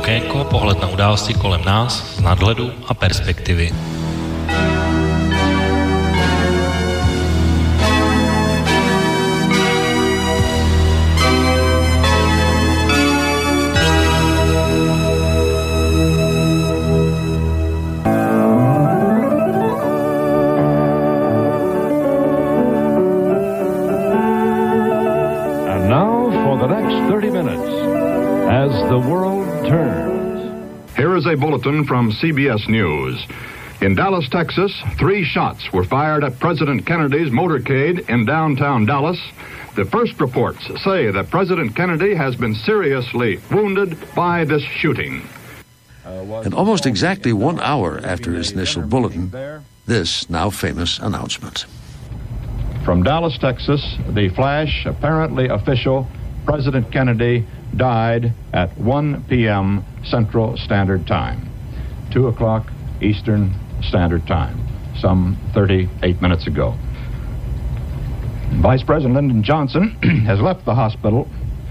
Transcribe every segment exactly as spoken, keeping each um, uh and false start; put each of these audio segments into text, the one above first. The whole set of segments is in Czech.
Okénko, pohled na události kolem nás z nadhledu a perspektivy. Here is a bulletin from C B S News. In Dallas, Texas, three shots were fired at President Kennedy's motorcade in downtown Dallas. The first reports say that President Kennedy has been seriously wounded by this shooting. And almost exactly one hour after his initial bulletin, this now famous announcement. From Dallas, Texas, the flash, apparently official, President Kennedy died at one p.m. Central Standard Time, two o'clock Eastern Standard Time, some thirty-eight minutes ago. Vice President Lyndon Johnson has left the hospital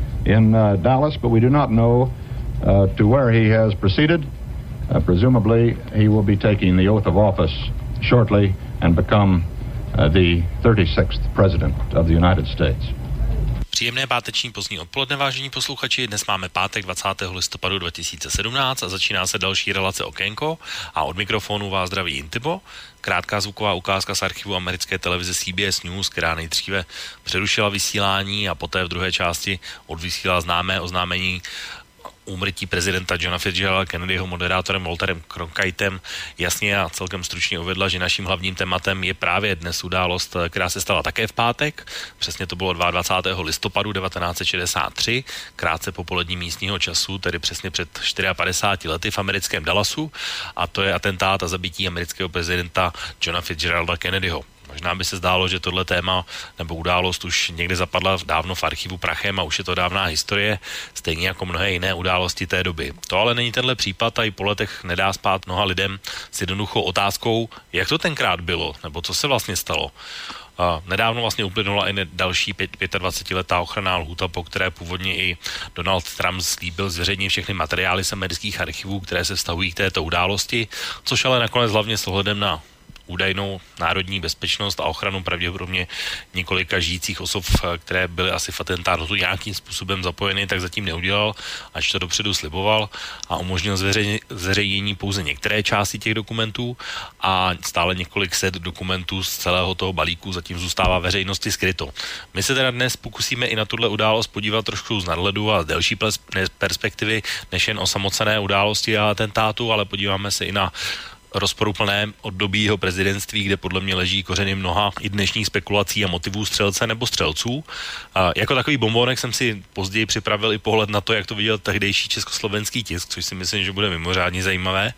in uh, Dallas, but we do not know uh, to where he has proceeded. Uh, presumably, he will be taking the oath of office shortly and become uh, the thirty-sixth President of the United States. Příjemné páteční pozdní odpoledne, vážení posluchači. Dnes máme pátek dvacátého listopadu dva tisíce sedmnáct a začíná se další relace Okénko a od mikrofonu vás zdraví Intibo. Krátká zvuková ukázka z archivu americké televize C B S News, která nejdříve přerušila vysílání a poté v druhé části odvysílala známé oznámení úmrtí prezidenta Johna Fitzgeralda Kennedyho moderátorem Walterem Cronkiteem jasně a celkem stručně uvedla, že naším hlavním tématem je právě dnes událost, která se stala také v pátek. Přesně to bylo dvacátého druhého listopadu devatenáct set šedesát tři, krátce po polední místního času, tedy přesně před padesáti čtyřmi lety v americkém Dallasu, a to je atentát a zabití amerického prezidenta Johna Fitzgeralda Kennedyho. Možná by se zdálo, že tohle téma nebo událost už někde zapadla dávno v archivu prachem a už je to dávná historie, stejně jako mnohé jiné události té doby. To ale není tenhle případ a i po letech nedá spát mnoha lidem s jednoduchou otázkou, jak to tenkrát bylo, nebo co se vlastně stalo. Uh, nedávno vlastně uplynula i další dvacetiletá ochranná lhůta, po které původně i Donald Trump slíbil zveřejnit všechny materiály z amerických archivů, které se vztahují k této události, což ale nakonec hlavně s ohledem na údajnou národní bezpečnost a ochranu pravděpodobně několika žijících osob, které byly asi v atentátu nějakým způsobem zapojeny, tak zatím neudělal, až to dopředu sliboval a umožnil zveřejnění pouze některé části těch dokumentů a stále několik set dokumentů z celého toho balíku zatím zůstává veřejnosti skryto. My se teda dnes pokusíme i na tuhle událost podívat trošku z nadhledu a z delší perspektivy, než jen o samotné události a atentátu, ale podíváme se i na rozporuplné období jeho prezidentství, kde podle mě leží kořeny mnoha i dnešních spekulací a motivů střelce nebo střelců. A jako takový bombonek jsem si později připravil i pohled na to, jak to viděl tehdejší československý tisk, což si myslím, že bude mimořádně zajímavé.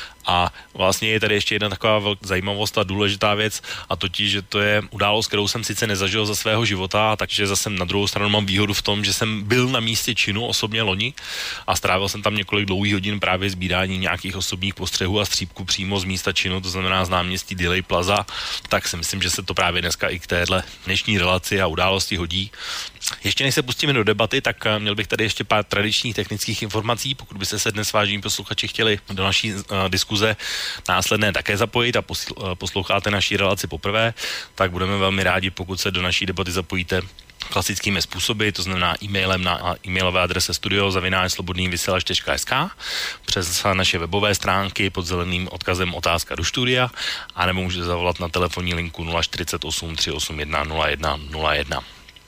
A vlastně je tady ještě jedna taková velká zajímavost a důležitá věc, a totiž, že to je událost, kterou jsem sice nezažil za svého života, takže zase na druhou stranu mám výhodu v tom, že jsem byl na místě činu osobně loni a strávil jsem tam několik dlouhých hodin právě sbírání nějakých osobních postřehů a střípků přímo z místa činu, to znamená z náměstí Dealey Plaza, tak si myslím, že se to právě dneska i k téhle dnešní relaci a události hodí. Ještě než se pustíme do debaty, tak měl bych tady ještě pár tradičních technických informací, pokud byste se dnes, vážení posluchači, chtěli do naší uh, diskuze následné také zapojit a posl- posloucháte naší relaci poprvé, tak budeme velmi rádi, pokud se do naší debaty zapojíte klasickými způsoby, to znamená e-mailem na e-mailové adrese studio zavináč slobodný vysílač tečka es ká, přes naše webové stránky pod zeleným odkazem otázka do studia, anebo můžete zavolat na telefonní linku nula čtyřicet osm tři osm jedna nula jedna nula jedna.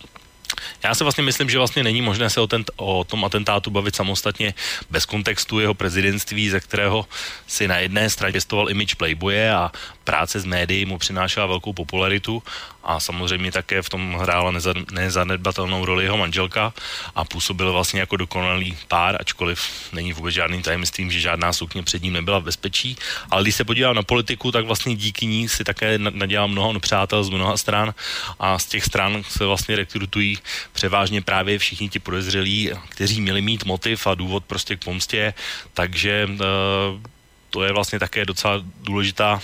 Já si vlastně myslím, že vlastně není možné se o, ten, o tom atentátu bavit samostatně bez kontextu jeho prezidentství, ze kterého si na jedné straně pěstoval image playboye a práce s médií mu přinášela velkou popularitu a samozřejmě také v tom hrála nezanedbatelnou roli jeho manželka a působil vlastně jako dokonalý pár, ačkoliv není vůbec žádným tajemstvím, že žádná sukně před ním nebyla v bezpečí. Ale když se podívám na politiku, tak vlastně díky ní si také nadělal mnoho nepřátel z mnoha stran a z těch stran se vlastně rekrutují převážně právě všichni ti podezřelí, kteří měli mít motiv a důvod prostě k pomstě, takže e, to je vlastně také docela důležitá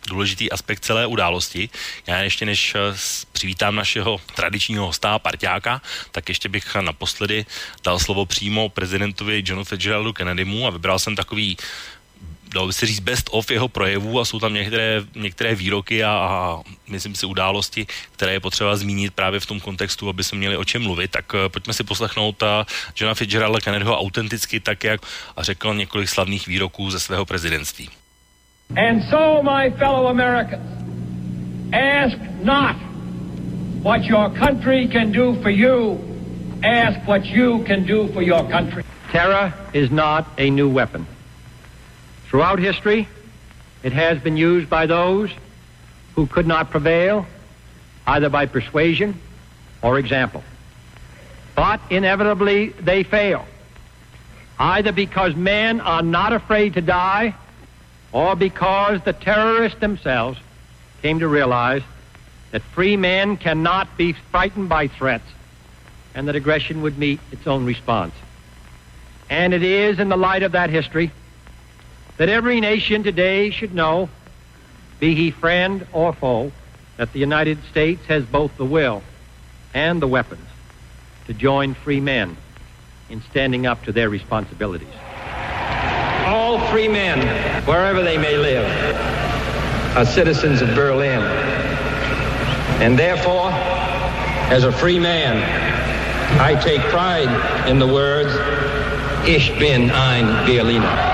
důležitý aspekt celé události. Já ještě než přivítám našeho tradičního hosta, parťáka, tak ještě bych naposledy dal slovo přímo prezidentovi Johnu Fitzgeraldu Kennedymu a vybral jsem takový, dalo by se říct, best of jeho projevů a jsou tam některé, některé výroky a, a myslím si události, které je potřeba zmínit právě v tom kontextu, aby se měli o čem mluvit. Tak pojďme si poslechnout Johna Fitzgeralda Kennedyho autenticky tak, jak a řekl několik slavných výroků ze svého prezidentství. And so, my fellow Americans, ask not what your country can do for you, ask what you can do for your country. Terror is not a new weapon. Throughout history, it has been used by those who could not prevail, either by persuasion or example. But inevitably, they fail, either because men are not afraid to die, or because the terrorists themselves came to realize that free men cannot be frightened by threats, and that aggression would meet its own response. And it is in the light of that history that every nation today should know, be he friend or foe, that the United States has both the will and the weapons to join free men in standing up to their responsibilities. All free men, wherever they may live, are citizens of Berlin. And therefore, as a free man, I take pride in the words, Ich bin ein Berliner.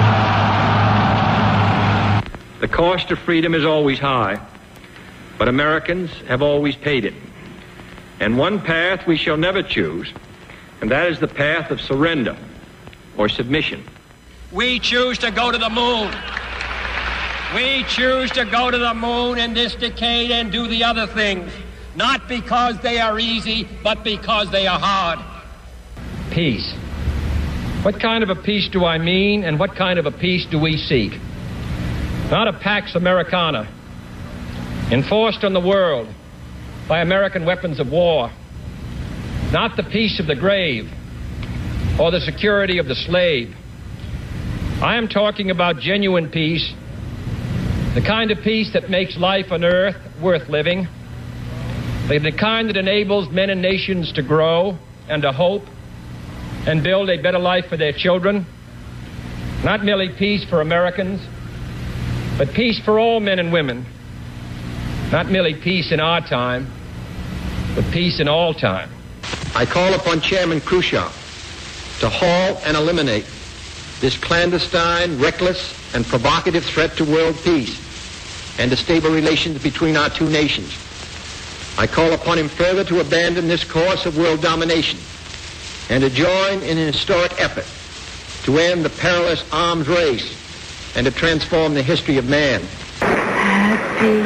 The cost of freedom is always high, but Americans have always paid it. And one path we shall never choose, and that is the path of surrender or submission. We choose to go to the moon. We choose to go to the moon in this decade and do the other things, not because they are easy, but because they are hard. Peace. What kind of a peace do I mean, and what kind of a peace do we seek? Not a Pax Americana, enforced on the world by American weapons of war. Not the peace of the grave or the security of the slave. I am talking about genuine peace, the kind of peace that makes life on earth worth living, the kind that enables men and nations to grow and to hope and build a better life for their children. Not merely peace for Americans, but peace for all men and women. Not merely peace in our time, but peace in all time. I call upon Chairman Khrushchev to halt and eliminate this clandestine, reckless, and provocative threat to world peace and to stable relations between our two nations. I call upon him further to abandon this course of world domination and to join in an historic effort to end the perilous arms race and to transform the history of man. Happy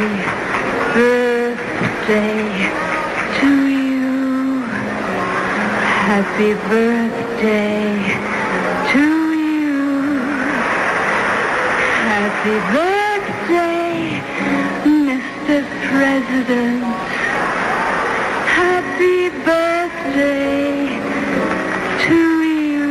birthday to you. Happy birthday to you. Happy birthday, Mister President. Happy birthday to you.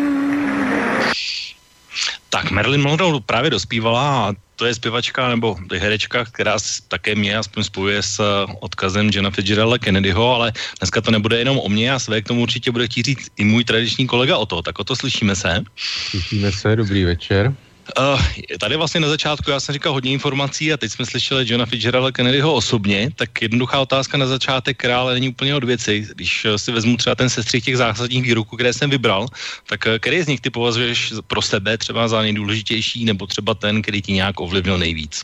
Tak Marilyn Monroe právě dospívala a to je zpěvačka nebo herečka, která také mě aspoň spojuje s odkazem Johna Fitzgeralda Kennedyho, ale dneska to nebude jenom o mě a své k tomu určitě bude chtít říct i můj tradiční kolega Otto. Tak Otto, slyšíme se? Slyšíme se, dobrý večer. Uh, tady vlastně na začátku já jsem říkal hodně informací a teď jsme slyšeli Johna Fitzgeralda Kennedyho osobně, tak jednoduchá otázka na začátek, která ale není úplně od věci. Když si vezmu třeba ten sestřih těch zásadních výroků, které jsem vybral, tak který z nich ty považuješ pro sebe třeba za nejdůležitější nebo třeba ten, který ti nějak ovlivnil nejvíc?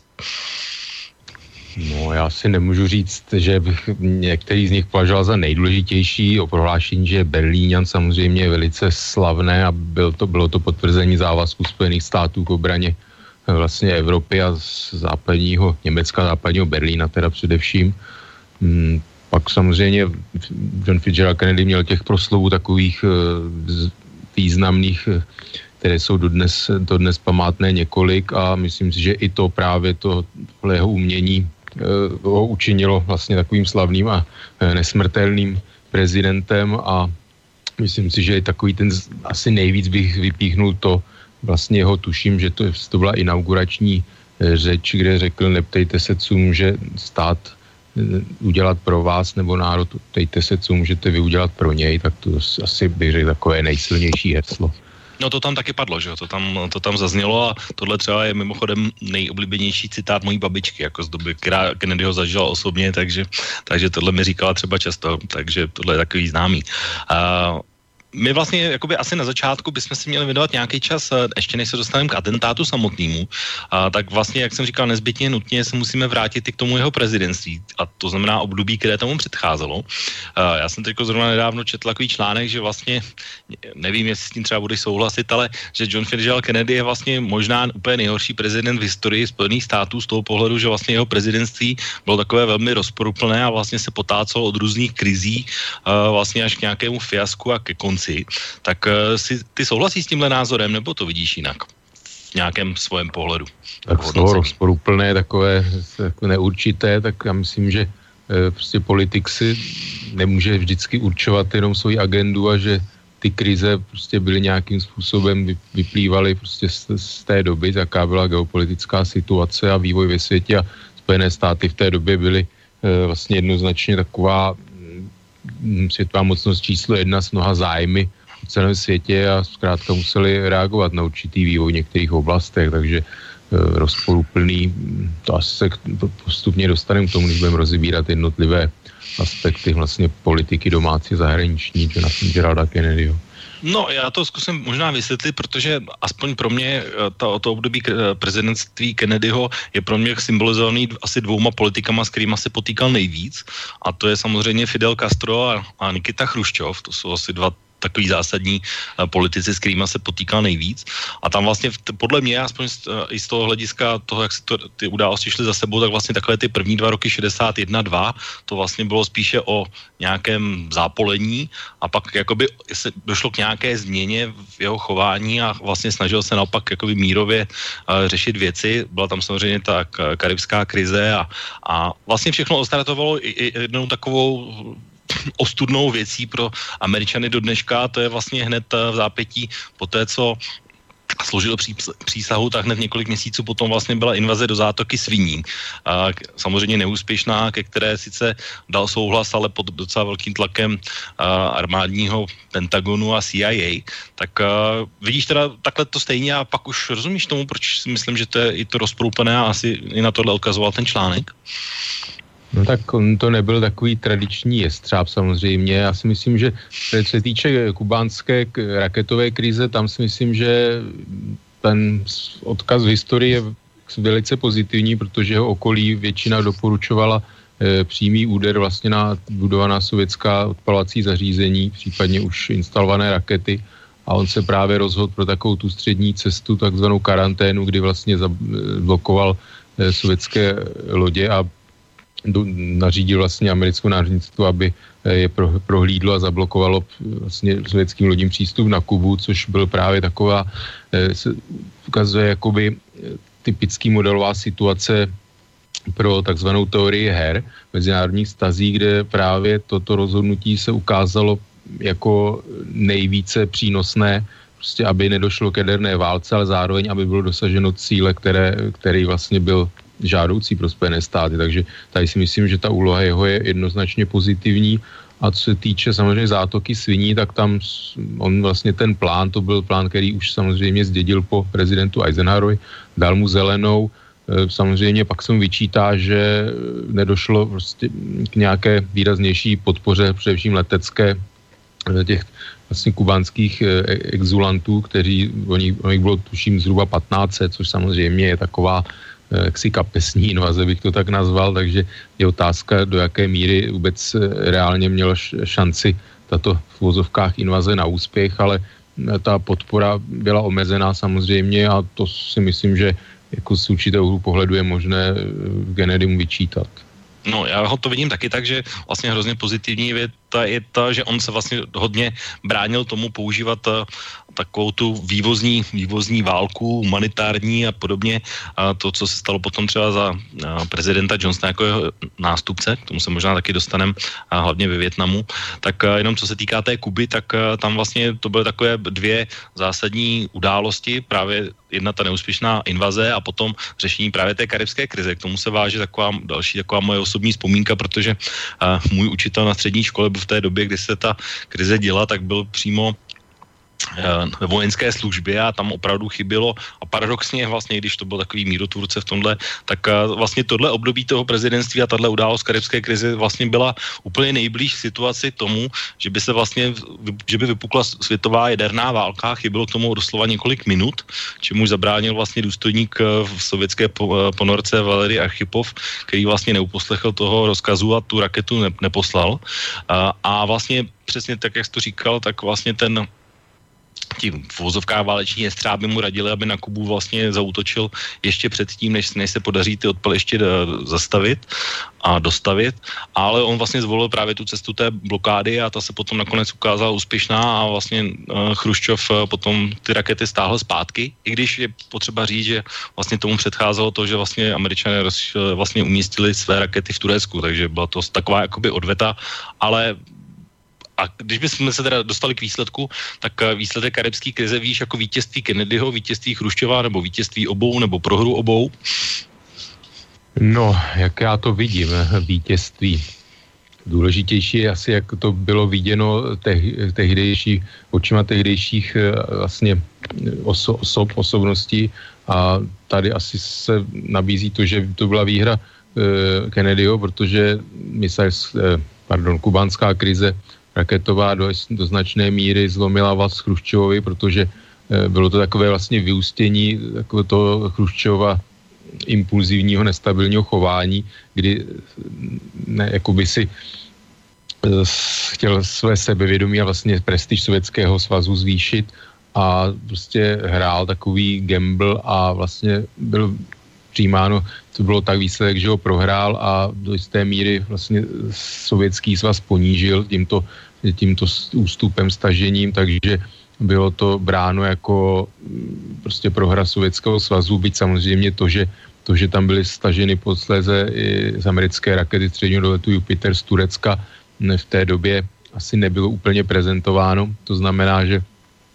No, já si nemůžu říct, že bych některý z nich považoval za nejdůležitější. O prohlášení, že Berlíňan samozřejmě je velice slavné a byl to, bylo to potvrzení závazku Spojených států k obraně vlastně Evropy a z západního Německa, západního Berlína teda především. Hmm, pak samozřejmě John Fitzgerald Kennedy měl těch proslovů takových uh, významných, které jsou dodnes, dodnes památné několik a myslím si, že i to právě to jeho umění ho učinilo vlastně takovým slavným a nesmrtelným prezidentem a myslím si, že i takový ten asi nejvíc bych vypíchnul to vlastně jeho, tuším, že to, to byla inaugurační řeč, kde řekl, neptejte se, co může stát udělat pro vás nebo národ, ptejte se, co můžete vy udělat pro něj, tak to asi bych řekl takové nejsilnější heslo. No to tam taky padlo, že jo, to tam, to tam zaznělo a tohle třeba je mimochodem nejoblíbenější citát mojí babičky, jako z doby, která Kennedyho zažila osobně, takže, takže tohle mi říkala třeba často, takže tohle je takový známý. Uh, My vlastně jakoby asi na začátku bychom si měli věnovat nějaký čas, ještě než se dostaneme k atentátu samotnému, a tak vlastně, jak jsem říkal, nezbytně nutně se musíme vrátit i k tomu jeho prezidentství, a to znamená období, které tomu předcházelo. A já jsem teď zrovna nedávno četl takový článek, že vlastně, nevím, jestli s tím třeba budeš souhlasit, ale že John Fitzgerald Kennedy je vlastně možná úplně nejhorší prezident v historii Spojených států z toho pohledu, že vlastně jeho prezidentství bylo takové velmi rozporuplné a vlastně se potácelo od různých krizí vlastně až k nějakému fiasku a ke konci. Tak uh, si, ty souhlasíš s tímhle názorem, nebo to vidíš jinak? V nějakém svém pohledu? Tak slovo rozporuplné, takové neurčité, tak já myslím, že e, prostě politik si nemůže vždycky určovat jenom svoji agendu a že ty krize prostě byly nějakým způsobem, vyplývaly prostě z, z té doby, jaká byla geopolitická situace a vývoj ve světě, a Spojené státy v té době byly e, vlastně jednoznačně taková světová mocnost číslo jedna s mnoha zájmy v celém světě a zkrátka museli reagovat na určitý vývoj v některých oblastech, takže e, rozporuplný, to asi se postupně dostaneme k tomu, když budeme rozebírat jednotlivé aspekty vlastně politiky domácí zahraniční Geralda Kennedyho. No, já to zkusím možná vysvětlit, protože aspoň pro mě to, to období prezidentství Kennedyho je pro mě symbolizovaný asi dvouma politikama, s kterými se potýkal nejvíc, a to je samozřejmě Fidel Castro a, a Nikita Chruščov, to jsou asi dva takový zásadní uh, politici, s kterými se potýkal nejvíc. A tam vlastně t- podle mě, aspoň z, uh, i z toho hlediska toho, jak se to, ty události šly za sebou, tak vlastně takové ty první dva roky šedesát jedna dva, to vlastně bylo spíše o nějakém zápolení a pak jakoby se došlo k nějaké změně v jeho chování a vlastně snažil se naopak jakoby mírově uh, řešit věci. Byla tam samozřejmě ta karibská krize a, a vlastně všechno ostartovalo i, i jednou takovou ostudnou věcí pro Američany do dneška, to je vlastně hned v zápětí po té, co složil přísahu, tak hned několik měsíců potom vlastně byla invaze do zátoky Sviní. A samozřejmě neúspěšná, ke které sice dal souhlas, ale pod docela velkým tlakem armádního Pentagonu a C I A. Tak vidíš teda takhle to stejně a pak už rozumíš tomu, proč si myslím, že to je i to rozproupené a asi i na tohle odkazoval ten článek? No tak on to nebyl takový tradiční jestřáb samozřejmě. Já si myslím, že co se týče kubánské raketové krize, tam si myslím, že ten odkaz v historii je velice pozitivní, protože jeho okolí většina doporučovala e, přímý úder vlastně na budovaná sovětská odpalovací zařízení, případně už instalované rakety. A on se právě rozhodl pro takovou tu střední cestu, takzvanou karanténu, kdy vlastně zablokoval e, sovětské lodě a do, nařídil vlastně americkou námořnictvo, aby je pro, prohlídlo a zablokovalo vlastně sovětským lodím přístup na Kubu, což byl právě taková, se ukazuje jakoby typický modelová situace pro takzvanou teorii her mezinárodních stazí, kde právě toto rozhodnutí se ukázalo jako nejvíce přínosné, prostě aby nedošlo k jaderné válce, ale zároveň, aby bylo dosaženo cíle, které, který vlastně byl žádoucí pro Spojené státy. Takže tady si myslím, že ta úloha jeho je jednoznačně pozitivní. A co se týče samozřejmě zátoky Sviní, tak tam on vlastně ten plán, to byl plán, který už samozřejmě zdědil po prezidentu Eisenhowerovi, dal mu zelenou. Samozřejmě pak se mu vyčítá, že nedošlo prostě k nějaké výraznější podpoře, především letecké, těch vlastně kubánských exulantů, kteří, o nich, o nich bylo tuším zhruba patnáct set, což samozřejmě je taková jaksi kapesní invaze, bych to tak nazval, takže je otázka, do jaké míry vůbec reálně měla šanci tato v uvozovkách invaze na úspěch, ale ta podpora byla omezená samozřejmě a to si myslím, že jako z určitého pohledu je možné Kennedymu vyčítat. No, já ho to vidím taky tak, že vlastně hrozně pozitivní je ta je ta, že on se vlastně hodně bránil tomu používat takovou tu vývozní, vývozní válku, humanitární a podobně. A to, co se stalo potom třeba za prezidenta Johnsona jako jeho nástupce, k tomu se možná taky dostaneme, hlavně ve Vietnamu, tak jenom co se týká té Kuby, tak tam vlastně to byly takové dvě zásadní události, právě jedna ta neúspěšná invaze a potom řešení právě té karibské krize. K tomu se váže taková další taková moje osobní vzpomínka, protože uh, můj učitel na střední škole byl v té době, kdy se ta krize děla, tak byl přímo ve vojenské službě a tam opravdu chybělo a paradoxně vlastně, když to byl takový mírotvůrce v tomhle, tak vlastně tohle období toho prezidentství a tahle událost karibské krize vlastně byla úplně nejblíž situaci tomu, že by se vlastně, že by vypukla světová jaderná válka, chybělo k tomu doslova několik minut, čemuž zabránil vlastně důstojník v sovětské ponorce Valery Archipov, který vlastně neuposlechl toho rozkazu a tu raketu ne, neposlal. A, a vlastně přesně tak, jak jsi to říkal, tak vlastně ten tím v vozovkách váleční jestřáby mu radili, aby na Kubu vlastně zaútočil ještě předtím, než, než se podaří ty odpaliště zastavit a dostavit, ale on vlastně zvolil právě tu cestu té blokády a ta se potom nakonec ukázala úspěšná a vlastně uh, Chruščov uh, potom ty rakety stáhl zpátky, i když je potřeba říct, že vlastně tomu předcházelo to, že vlastně Američané roz, uh, vlastně umístili své rakety v Turecku, takže byla to taková jakoby odveta, ale a když bychom se teda dostali k výsledku, tak výsledek karibské krize víš jako vítězství Kennedyho, vítězství Chruščova nebo vítězství obou nebo prohru obou? No, jak já to vidím, vítězství. Důležitější je asi, jak to bylo viděno te- tehdejší, očima tehdejších vlastně oso- osob, osobností a tady asi se nabízí to, že to byla výhra eh, Kennedyho, protože mysl, eh, pardon, kubánská krize raketová do, do značné míry zlomila vaz Chruščovovi, protože e, bylo to takové vlastně vyústění takové toho Chruščova impulzivního, nestabilního chování, kdy ne, jakoby si e, chtěl své sebevědomí a vlastně prestiž Sovětského svazu zvýšit a prostě hrál takový gamble a vlastně byl přijímáno, to bylo tak výsledek, že ho prohrál a do jisté míry vlastně Sovětský svaz ponížil tímto, tímto ústupem, stažením, takže bylo to bráno jako prostě prohra Sovětského svazu, byť samozřejmě to, že, to, že tam byly staženy posléze i z americké rakety středního doletu Jupiter z Turecka, v té době asi nebylo úplně prezentováno. To znamená, že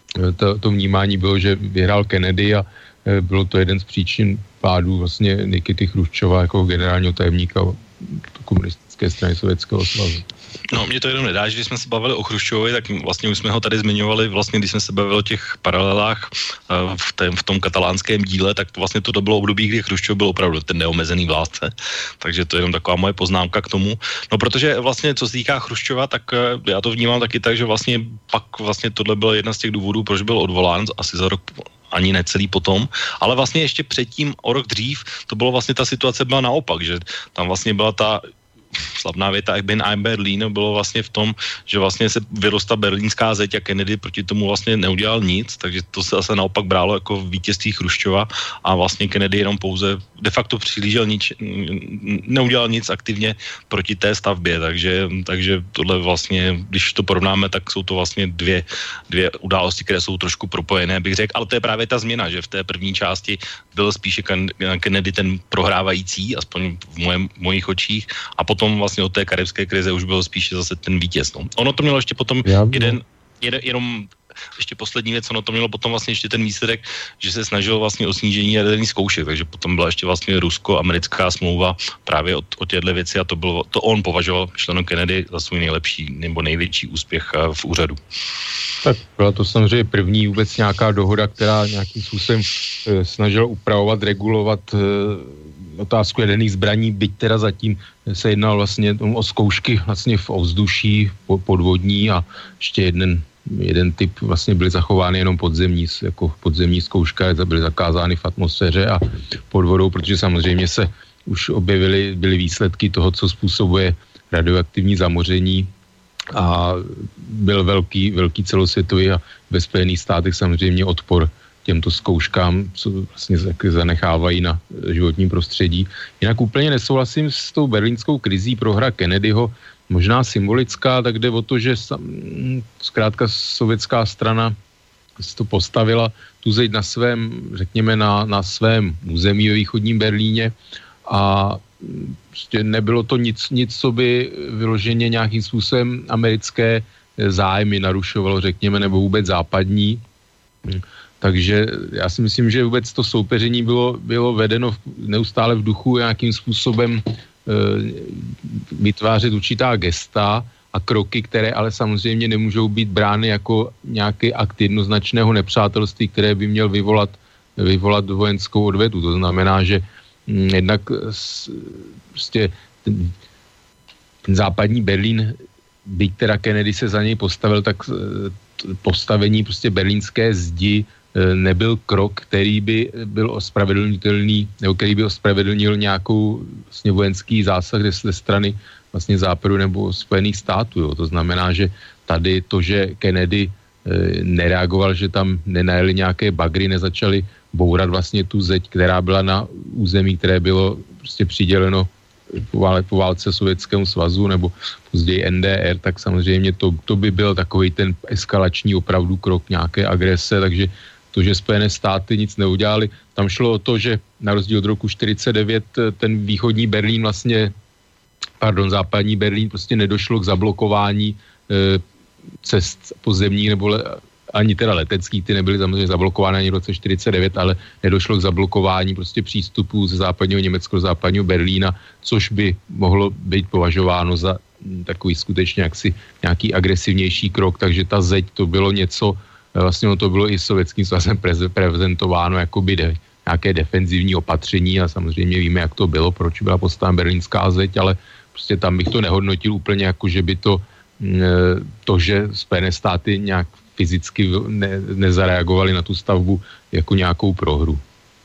to, to vnímání bylo, že vyhrál Kennedy a bylo to jeden z příčin pádu vlastně Nikity Chruščova jako generálního tajemníka komunistické strany Sovětského svazu. No, mě to jenom nedá, že když jsme se bavili o Chruščovi, tak vlastně už jsme ho tady zmiňovali, vlastně když jsme se bavili o těch paralelách v, tém, v tom katalánském díle, tak to vlastně to bylo období, kdy Chruščov byl opravdu ten neomezený vládce. Takže to je jenom taková moje poznámka k tomu. No, protože vlastně, co se týká Chruščova, tak já to vnímám taky tak, že vlastně pak vlastně tohle byl jedna z těch důvodů, proč byl odvolán asi za rok ani necelý potom, ale vlastně ještě předtím, o rok dřív, to bylo vlastně ta situace byla naopak, že tam vlastně byla ta slavná věta Ich bin ein Berliner bylo vlastně v tom, že vlastně se vyrostla berlínská zeď a Kennedy proti tomu vlastně neudělal nic, takže to se zase naopak brálo jako vítězství Chruščova a vlastně Kennedy jenom pouze de facto přihlížel nič, neudělal nic aktivně proti té stavbě, takže, takže tohle vlastně, když to porovnáme, tak jsou to vlastně dvě, dvě události, které jsou trošku propojené, bych řekl, ale to je právě ta změna, že v té první části byl spíše Kennedy ten prohrávající, aspoň v mojem, mojich očích, a potom vlastně od té karibské krize už byl spíše zase ten vítěz. No. Ono to mělo ještě potom jeden, jeden, jenom ještě poslední věc, ono to mělo potom vlastně ještě ten výsledek, že se snažilo vlastně o snížení jaderných zkoušek, takže potom byla ještě vlastně rusko-americká smlouva právě o, o těchto věci a to bylo, to on považoval členu Kennedy za svůj nejlepší nebo největší úspěch v úřadu. Tak byla to samozřejmě první vůbec nějaká dohoda, která nějakým způsobem e, snažila upravovat, regulovat e, otázku jaderných zbraní, byť teda zatím se jednalo vlastně o zkoušky vlastně v ovzduší, podvodní a ještě jeden jeden typ vlastně byly zachovány jenom podzemní, jako podzemní zkouška, byly zakázány v atmosféře a pod vodou, protože samozřejmě se už objevily, byly výsledky toho, co způsobuje radioaktivní zamoření a byl velký, velký celosvětový a ve Spojených státech samozřejmě odpor těmto zkouškám, co vlastně zanechávají na životním prostředí. Jinak úplně nesouhlasím s tou berlínskou krizí prohra Kennedyho. možná symbolická, tak jde o to, že zkrátka sovětská strana si to postavila tu zeď na svém, řekněme, na, na svém území ve východním Berlíně a prostě nebylo to nic, nic, co by vyloženě nějakým způsobem americké zájmy narušovalo, řekněme, nebo vůbec západní. Takže já si myslím, že vůbec to soupeření bylo, bylo vedeno neustále v duchu nějakým způsobem e, vytvářet určitá gesta a kroky, které ale samozřejmě nemůžou být brány jako nějaký akt jednoznačného nepřátelství, které by měl vyvolat, vyvolat vojenskou odvetu. To znamená, že m, jednak s, prostě ten, ten západní Berlín, byť teda Kennedy se za něj postavil, tak postavení prostě berlínské zdi nebyl krok, který by byl ospravedlnitelný, nebo který by ospravedlnil nějakou vlastně vojenský zásah ze strany vlastně západu nebo Spojených států. Jo. To znamená, že tady to, že Kennedy e, nereagoval, že tam nenajeli nějaké bagry, nezačali bourat vlastně tu zeď, která byla na území, které bylo prostě přiděleno po, vále, po válce Sovětskému svazu nebo později N D R, tak samozřejmě to, to by byl takový ten eskalační opravdu krok nějaké agrese, takže to, že Spojené státy nic neudělali, tam šlo o to, že na rozdíl od roku čtyřicet devět ten východní Berlín vlastně, pardon, západní Berlín prostě nedošlo k zablokování e, cest pozemních nebo le, ani teda leteckých, ty nebyly samozřejmě zablokovány ani v roce čtyřicet devět, ale nedošlo k zablokování prostě přístupů ze západního Německa do západního Berlína, což by mohlo být považováno za takový skutečně jaksi nějaký agresivnější krok, takže ta zeď to bylo něco, vlastně to bylo i sovětským svazem prezentováno jako by de, nějaké defenzivní opatření a samozřejmě víme, jak to bylo, proč byla postavena berlínská zeď, ale prostě tam bych to nehodnotil úplně jako, že by to, to že Spojené státy nějak fyzicky ne, nezareagovali na tu stavbu jako nějakou prohru.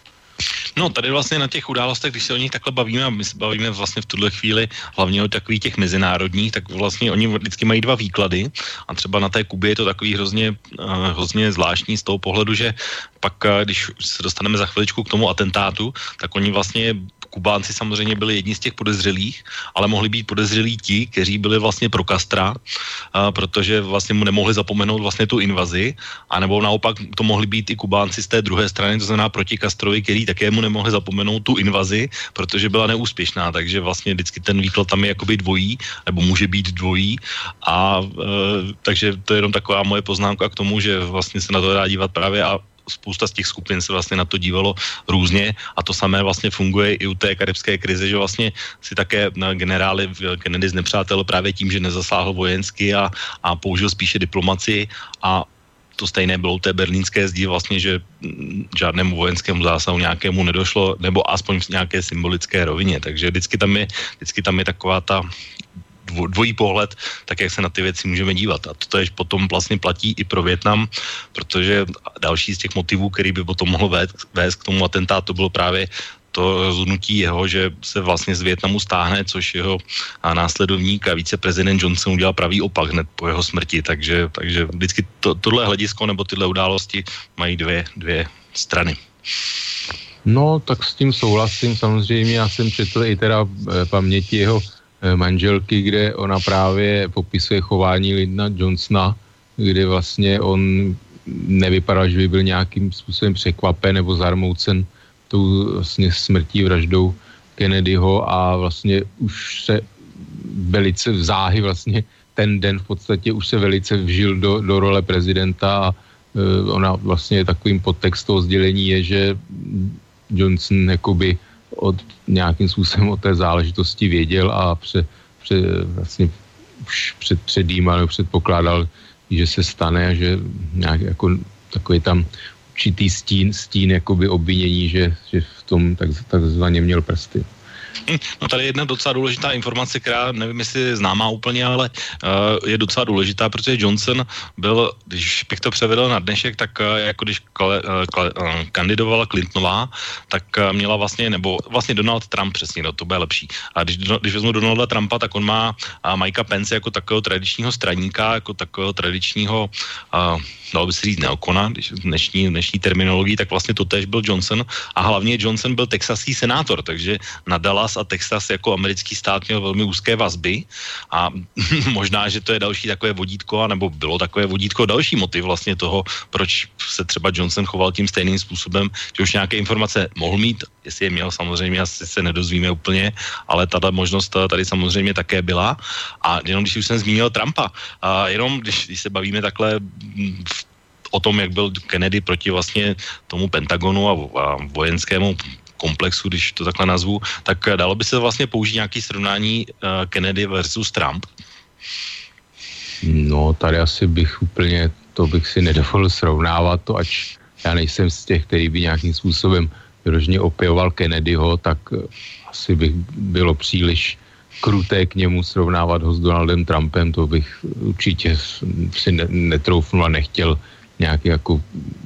No, tady vlastně na těch událostech, když se o nich takhle bavíme, a my se bavíme vlastně v tuhle chvíli hlavně o takových těch mezinárodních, tak vlastně oni vždycky mají dva výklady a třeba na té Kubě je to takový hrozně, hrozně zvláštní z toho pohledu, že pak, když se dostaneme za chviličku k tomu atentátu, tak oni vlastně Kubánci samozřejmě byli jedni z těch podezřelých, ale mohli být podezřelí ti, kteří byli vlastně pro Castra, a protože vlastně mu nemohli zapomenout vlastně tu invazi, anebo naopak to mohli být i Kubánci z té druhé strany, to znamená proti Castrovi, který také mu nemohli zapomenout tu invazi, protože byla neúspěšná, takže vlastně vždycky ten výklad tam je jakoby dvojí, nebo může být dvojí a e, takže to je jenom taková moje poznámka k tomu, že vlastně se na to dá dívat právě a spousta z těch skupin se vlastně na to dívalo různě a to samé vlastně funguje i u té karibské krize, že vlastně si také generály Kennedy znepřátel právě tím, že nezasáhl vojensky a, a použil spíše diplomaci a to stejné bylo u té berlínské zdi vlastně, že žádnému vojenskému zásahu nějakému nedošlo, nebo aspoň v nějaké symbolické rovině, takže vždycky tam je, vždycky tam je taková ta dvojí pohled, tak jak se na ty věci můžeme dívat. A to je potom vlastně platí i pro Vietnam, protože další z těch motivů, který by potom mohlo vést, vést k tomu atentátu, bylo právě to rozhodnutí jeho, že se vlastně z Vietnamu stáhne, což jeho následovník a viceprezident Johnson udělal pravý opak hned po jeho smrti, takže, takže vždycky to, tohle hledisko nebo tyhle události mají dvě, dvě strany. No, tak s tím souhlasím, samozřejmě já jsem četl i teda paměti jeho manželky, kde ona právě popisuje chování Lyndona Johnsona, kde vlastně on nevypadal, že by byl nějakým způsobem překvapen nebo zarmoucen tou vlastně smrtí, vraždou Kennedyho a vlastně už se velice záhy vlastně ten den v podstatě už se velice vžil do, do role prezidenta a e, ona vlastně takovým podtext toho sdělení je, že Johnson jakoby od nějakým způsobem o té záležitosti věděl a pře, pře, vlastně už před, předjímal nebo předpokládal, že se stane a že nějak jako takový tam určitý stín, stín jakoby obvinění, že, že v tom tak, takzvaně měl prsty. No tady je jedna docela důležitá informace, která nevím, jestli je známá úplně, ale uh, je docela důležitá, protože Johnson byl, když bych to převedl na dnešek, tak uh, jako když kle, kle, uh, kandidovala Clintonová, tak uh, měla vlastně, nebo vlastně Donald Trump přesně, no, to bude lepší. A když, když vezmu Donalda Trumpa, tak on má uh, Mikea Pence jako takového tradičního straníka, jako takového tradičního uh, dalo by se říct neokona, když v dnešní, dnešní terminologii, tak vlastně to též byl Johnson a hlavně Johnson byl texaský senátor, takže na Dallas Dallas a Texas jako americký stát měl velmi úzké vazby a možná, že to je další takové vodítko, nebo bylo takové vodítko, další motiv vlastně toho, proč se třeba Johnson choval tím stejným způsobem, že už nějaké informace mohl mít, jestli je měl, samozřejmě asi se nedozvíme úplně, ale tato možnost tady samozřejmě také byla. A jenom když už jsem zmínil Trumpa, a jenom když, když se bavíme takhle v o tom, jak byl Kennedy proti vlastně tomu Pentagonu a, a vojenskému komplexu, když to takhle nazvu, tak dalo by se vlastně použít nějaké srovnání uh, Kennedy versus Trump? No, tady asi bych úplně, to bych si nedovolil srovnávat to, ač já nejsem z těch, který by nějakým způsobem vyloženě opěvoval Kennedyho, tak asi bych bylo příliš kruté k němu srovnávat ho s Donaldem Trumpem, to bych určitě si ne, netroufnul a nechtěl nějak jako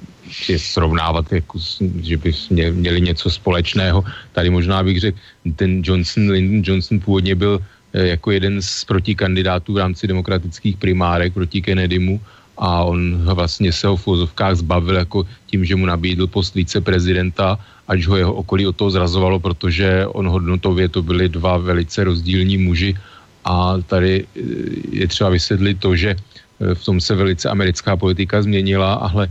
si srovnávat, jako, že by měli něco společného. Tady možná bych řekl, ten Johnson, Lyndon Johnson původně byl jako jeden z protikandidátů v rámci demokratických primárek proti Kennedymu a on vlastně se ho v úvozovkách zbavil jako tím, že mu nabídl post viceprezidenta, až ho jeho okolí od toho zrazovalo, protože on hodnotově to byli dva velice rozdílní muži a tady je třeba vysvětlit to, že v tom se velice americká politika změnila, ale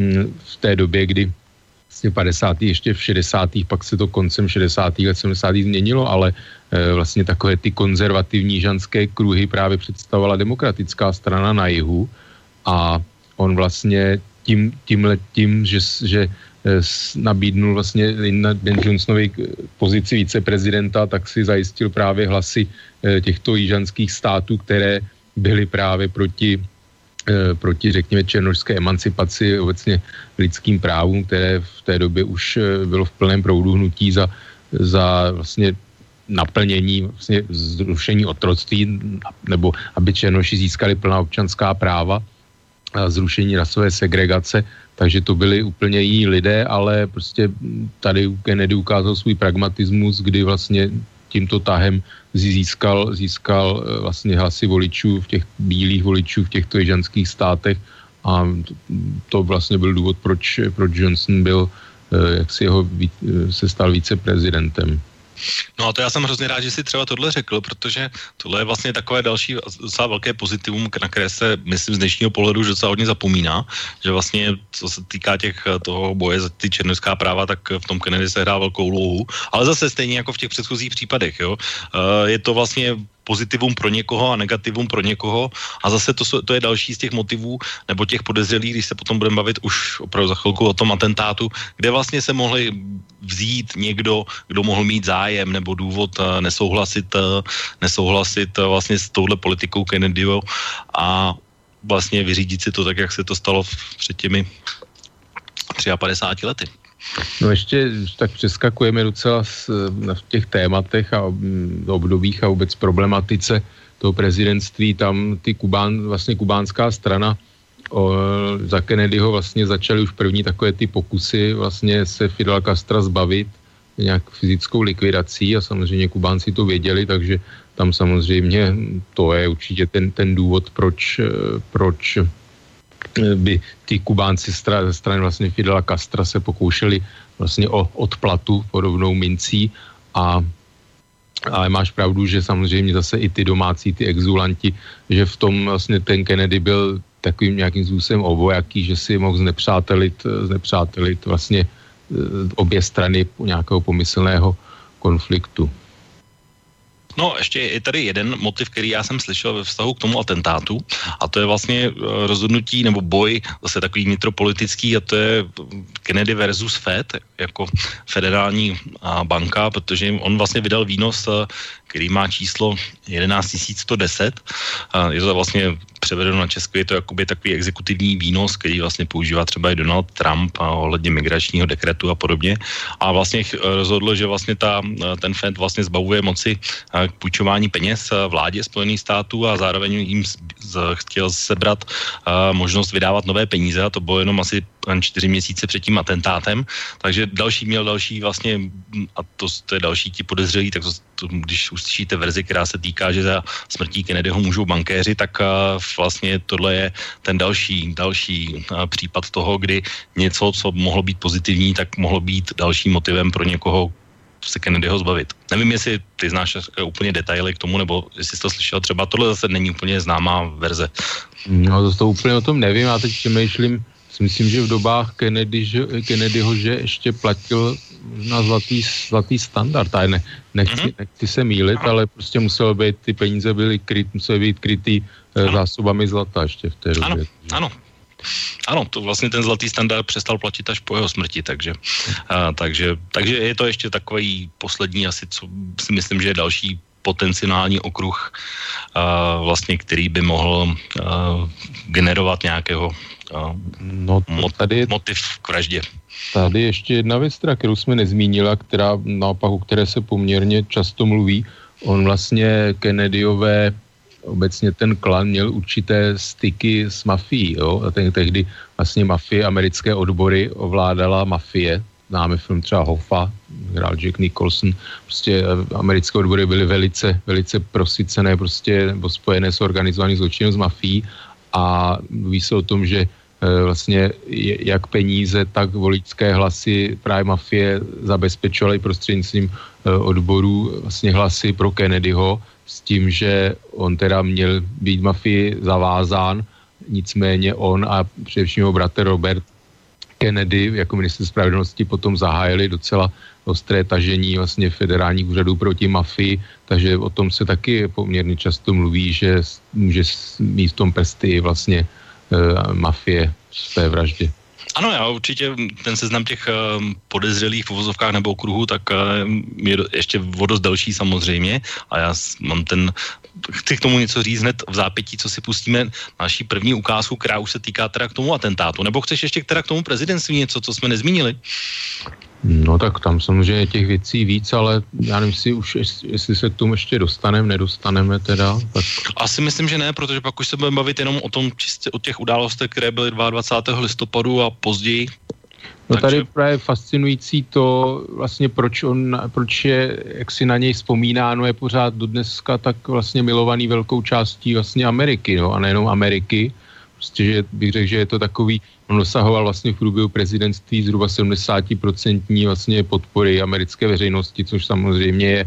v té době, kdy vlastně padesátých ještě v šedesátých pak se to koncem šedesátých let, sedmdesátých změnilo, ale vlastně takové ty konzervativní žanské kruhy právě představovala demokratická strana na jihu a on vlastně tím, tímhle tím, že, že nabídnul vlastně Lyndon Johnsonovi pozici viceprezidenta, tak si zajistil právě hlasy těchto jižanských států, které byly právě proti, eh, proti, řekněme, černošské emancipaci, obecně lidským právům, které v té době už eh, bylo v plném proudu hnutí za, za vlastně naplnění, vlastně zrušení otroctví, nebo aby černoši získali plná občanská práva a zrušení rasové segregace, takže to byli úplně jiní lidé, ale prostě tady Kennedy ukázal svůj pragmatismus, kdy vlastně tímto tahem získal, získal vlastně hlasy voličů, v těch bílých voličů v těchto jižanských státech a to vlastně byl důvod, proč, proč Johnson byl, jak si jeho, se stal viceprezidentem. No a to já jsem hrozně rád, že si třeba tohle řekl, protože tohle je vlastně takové další docela velké pozitivum, na které se, myslím, z dnešního pohledu docela hodně zapomíná, že vlastně, co se týká těch toho boje za ty černošská práva, tak v tom Kennedy se hrál velkou úlohu, ale zase stejně jako v těch předchozích případech, jo. Je to vlastně pozitivum pro někoho a negativum pro někoho a zase to, to je další z těch motivů nebo těch podezřelých, když se potom budeme bavit už opravdu za chvilku o tom atentátu, kde vlastně se mohli vzít někdo, kdo mohl mít zájem nebo důvod nesouhlasit, nesouhlasit vlastně s touhle politikou Kennedyho a vlastně vyřídit si to tak, jak se to stalo před těmi padesát tři lety. No ještě tak přeskakujeme docela v těch tématech a obdobích a vůbec problematice toho prezidentství. Tam ty Kubán, vlastně kubánská strana o, za Kennedyho vlastně začaly už první takové ty pokusy vlastně se Fidela Castra zbavit nějak fyzickou likvidací a samozřejmě Kubánci to věděli, takže tam samozřejmě to je určitě ten, ten důvod, proč, proč by ty Kubánci ze strany vlastně Fidela Castra se pokoušeli vlastně o odplatu podobnou mincí a ale máš pravdu, že samozřejmě zase i ty domácí, ty exulanti, že v tom vlastně ten Kennedy byl takovým nějakým způsobem obojaký, že si mohl znepřátelit, znepřátelit vlastně obě strany nějakého pomyslného konfliktu. No, ještě je tady jeden motiv, který já jsem slyšel ve vztahu k tomu atentátu a to je vlastně rozhodnutí nebo boj zase takový vnitropolitický a to je Kennedy versus Fed jako federální banka, protože on vlastně vydal výnos, který má číslo jedenáct tisíc sto deset. Je to vlastně převedeno na Česko, je to jakoby takový exekutivní výnos, který vlastně používá třeba i Donald Trump a ohledně migračního dekretu a podobně. A vlastně rozhodl, že vlastně ta, ten Fed vlastně zbavuje moci k půjčování peněz vládě Spojených států a zároveň jim chtěl sebrat možnost vydávat nové peníze a to bylo jenom asi čtyři měsíce před tím atentátem. Takže další měl další vlastně, a to, to je další ti podezřelí, tak to, to, když uslyšíte verzi, která se týká, že za smrtí Kennedyho můžou bankéři, tak vlastně tohle je ten další, další případ toho, kdy něco, co mohlo být pozitivní, tak mohlo být dalším motivem pro někoho, se Kennedyho zbavit. Nevím, jestli ty znáš úplně detaily k tomu, nebo jestli jsi to slyšel, třeba tohle zase není úplně známá verze. No to, to úplně o tom nevím, já teď přemýšlím, myslím, že v dobách Kennedy, že, Kennedyho, že ještě platil na zlatý, zlatý standard, a ne, nechci, mm-hmm. nechci se mýlit, ale prostě muselo být, ty peníze byly kryt, musely být krytý eh, zásobami zlata ještě v té době. Ano, ano. Ano, to vlastně ten zlatý standard přestal platit až po jeho smrti, takže, a, takže, takže je to ještě takový poslední asi, co si myslím, že je další potenciální okruh, a, vlastně, který by mohl a, generovat nějakého a, no mot, tady, motiv k vraždě. Tady ještě jedna věc, kterou jsme nezmínila, která naopak, o které se poměrně často mluví. On vlastně Kennedyové obecně ten klan měl určité styky s mafií, jo, a ten, tehdy vlastně mafie, americké odbory ovládala mafie, známe film třeba Hoffa, hrál Jack Nicholson, prostě americké odbory byly velice, velice prosycené, prostě, nebo spojené s organizovaným zločinem z mafií a mluví se o tom, že vlastně jak peníze, tak voličské hlasy právě mafie zabezpečovaly prostřednictvím odborů vlastně hlasy pro Kennedyho, s tím, že on teda měl být mafii zavázán, nicméně on a především jeho bratr Robert Kennedy jako ministr spravedlnosti potom zahájili docela ostré tažení vlastně federálních úřadů proti mafii, takže o tom se taky poměrně často mluví, že může mít v tom prsty vlastně e, mafie v té vraždě. Ano, já určitě ten seznam těch podezřelých v uvozovkách nebo okruhů, tak je ještě o dost delší samozřejmě a já mám ten, chci k tomu něco říct hned v zápětí, co si pustíme naší první ukázku, která už se týká teda k tomu atentátu. Nebo chceš ještě teda k tomu prezidentství něco, co jsme nezmínili? No tak tam samozřejmě těch věcí víc, ale já nevím, jestli už, jestli se k tomu ještě dostaneme, nedostaneme teda. Tak... Asi myslím, že ne, protože pak už se budeme bavit jenom o tom čistě o těch událostech, které byly dvacátého druhého listopadu a později. No takže... tady právě fascinující to vlastně, proč on, proč je, jak si na něj vzpomínáno, je pořád do dneska tak vlastně milovaný velkou částí vlastně Ameriky, no a nejenom Ameriky. Prostě, že bych řekl, že je to takový, on dosahoval vlastně v průběhu prezidentství zhruba sedmdesát procent vlastně podpory americké veřejnosti, což samozřejmě je e,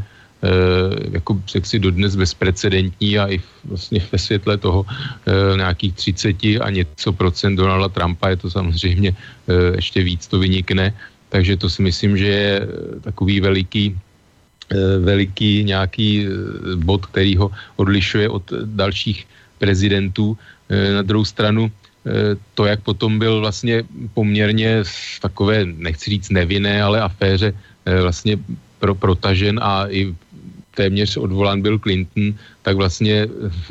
jako si dodnes bezprecedentní a i vlastně ve světle toho e, nějakých třicet a něco procent Donalda Trumpa je to samozřejmě e, ještě víc to vynikne, takže to si myslím, že je takový veliký e, veliký nějaký bod, který ho odlišuje od dalších prezidentů. Na druhou stranu to, jak potom byl vlastně poměrně v takové, nechci říct nevinné, ale aféře vlastně pro, protažen a i téměř odvolán Bill Clinton, tak vlastně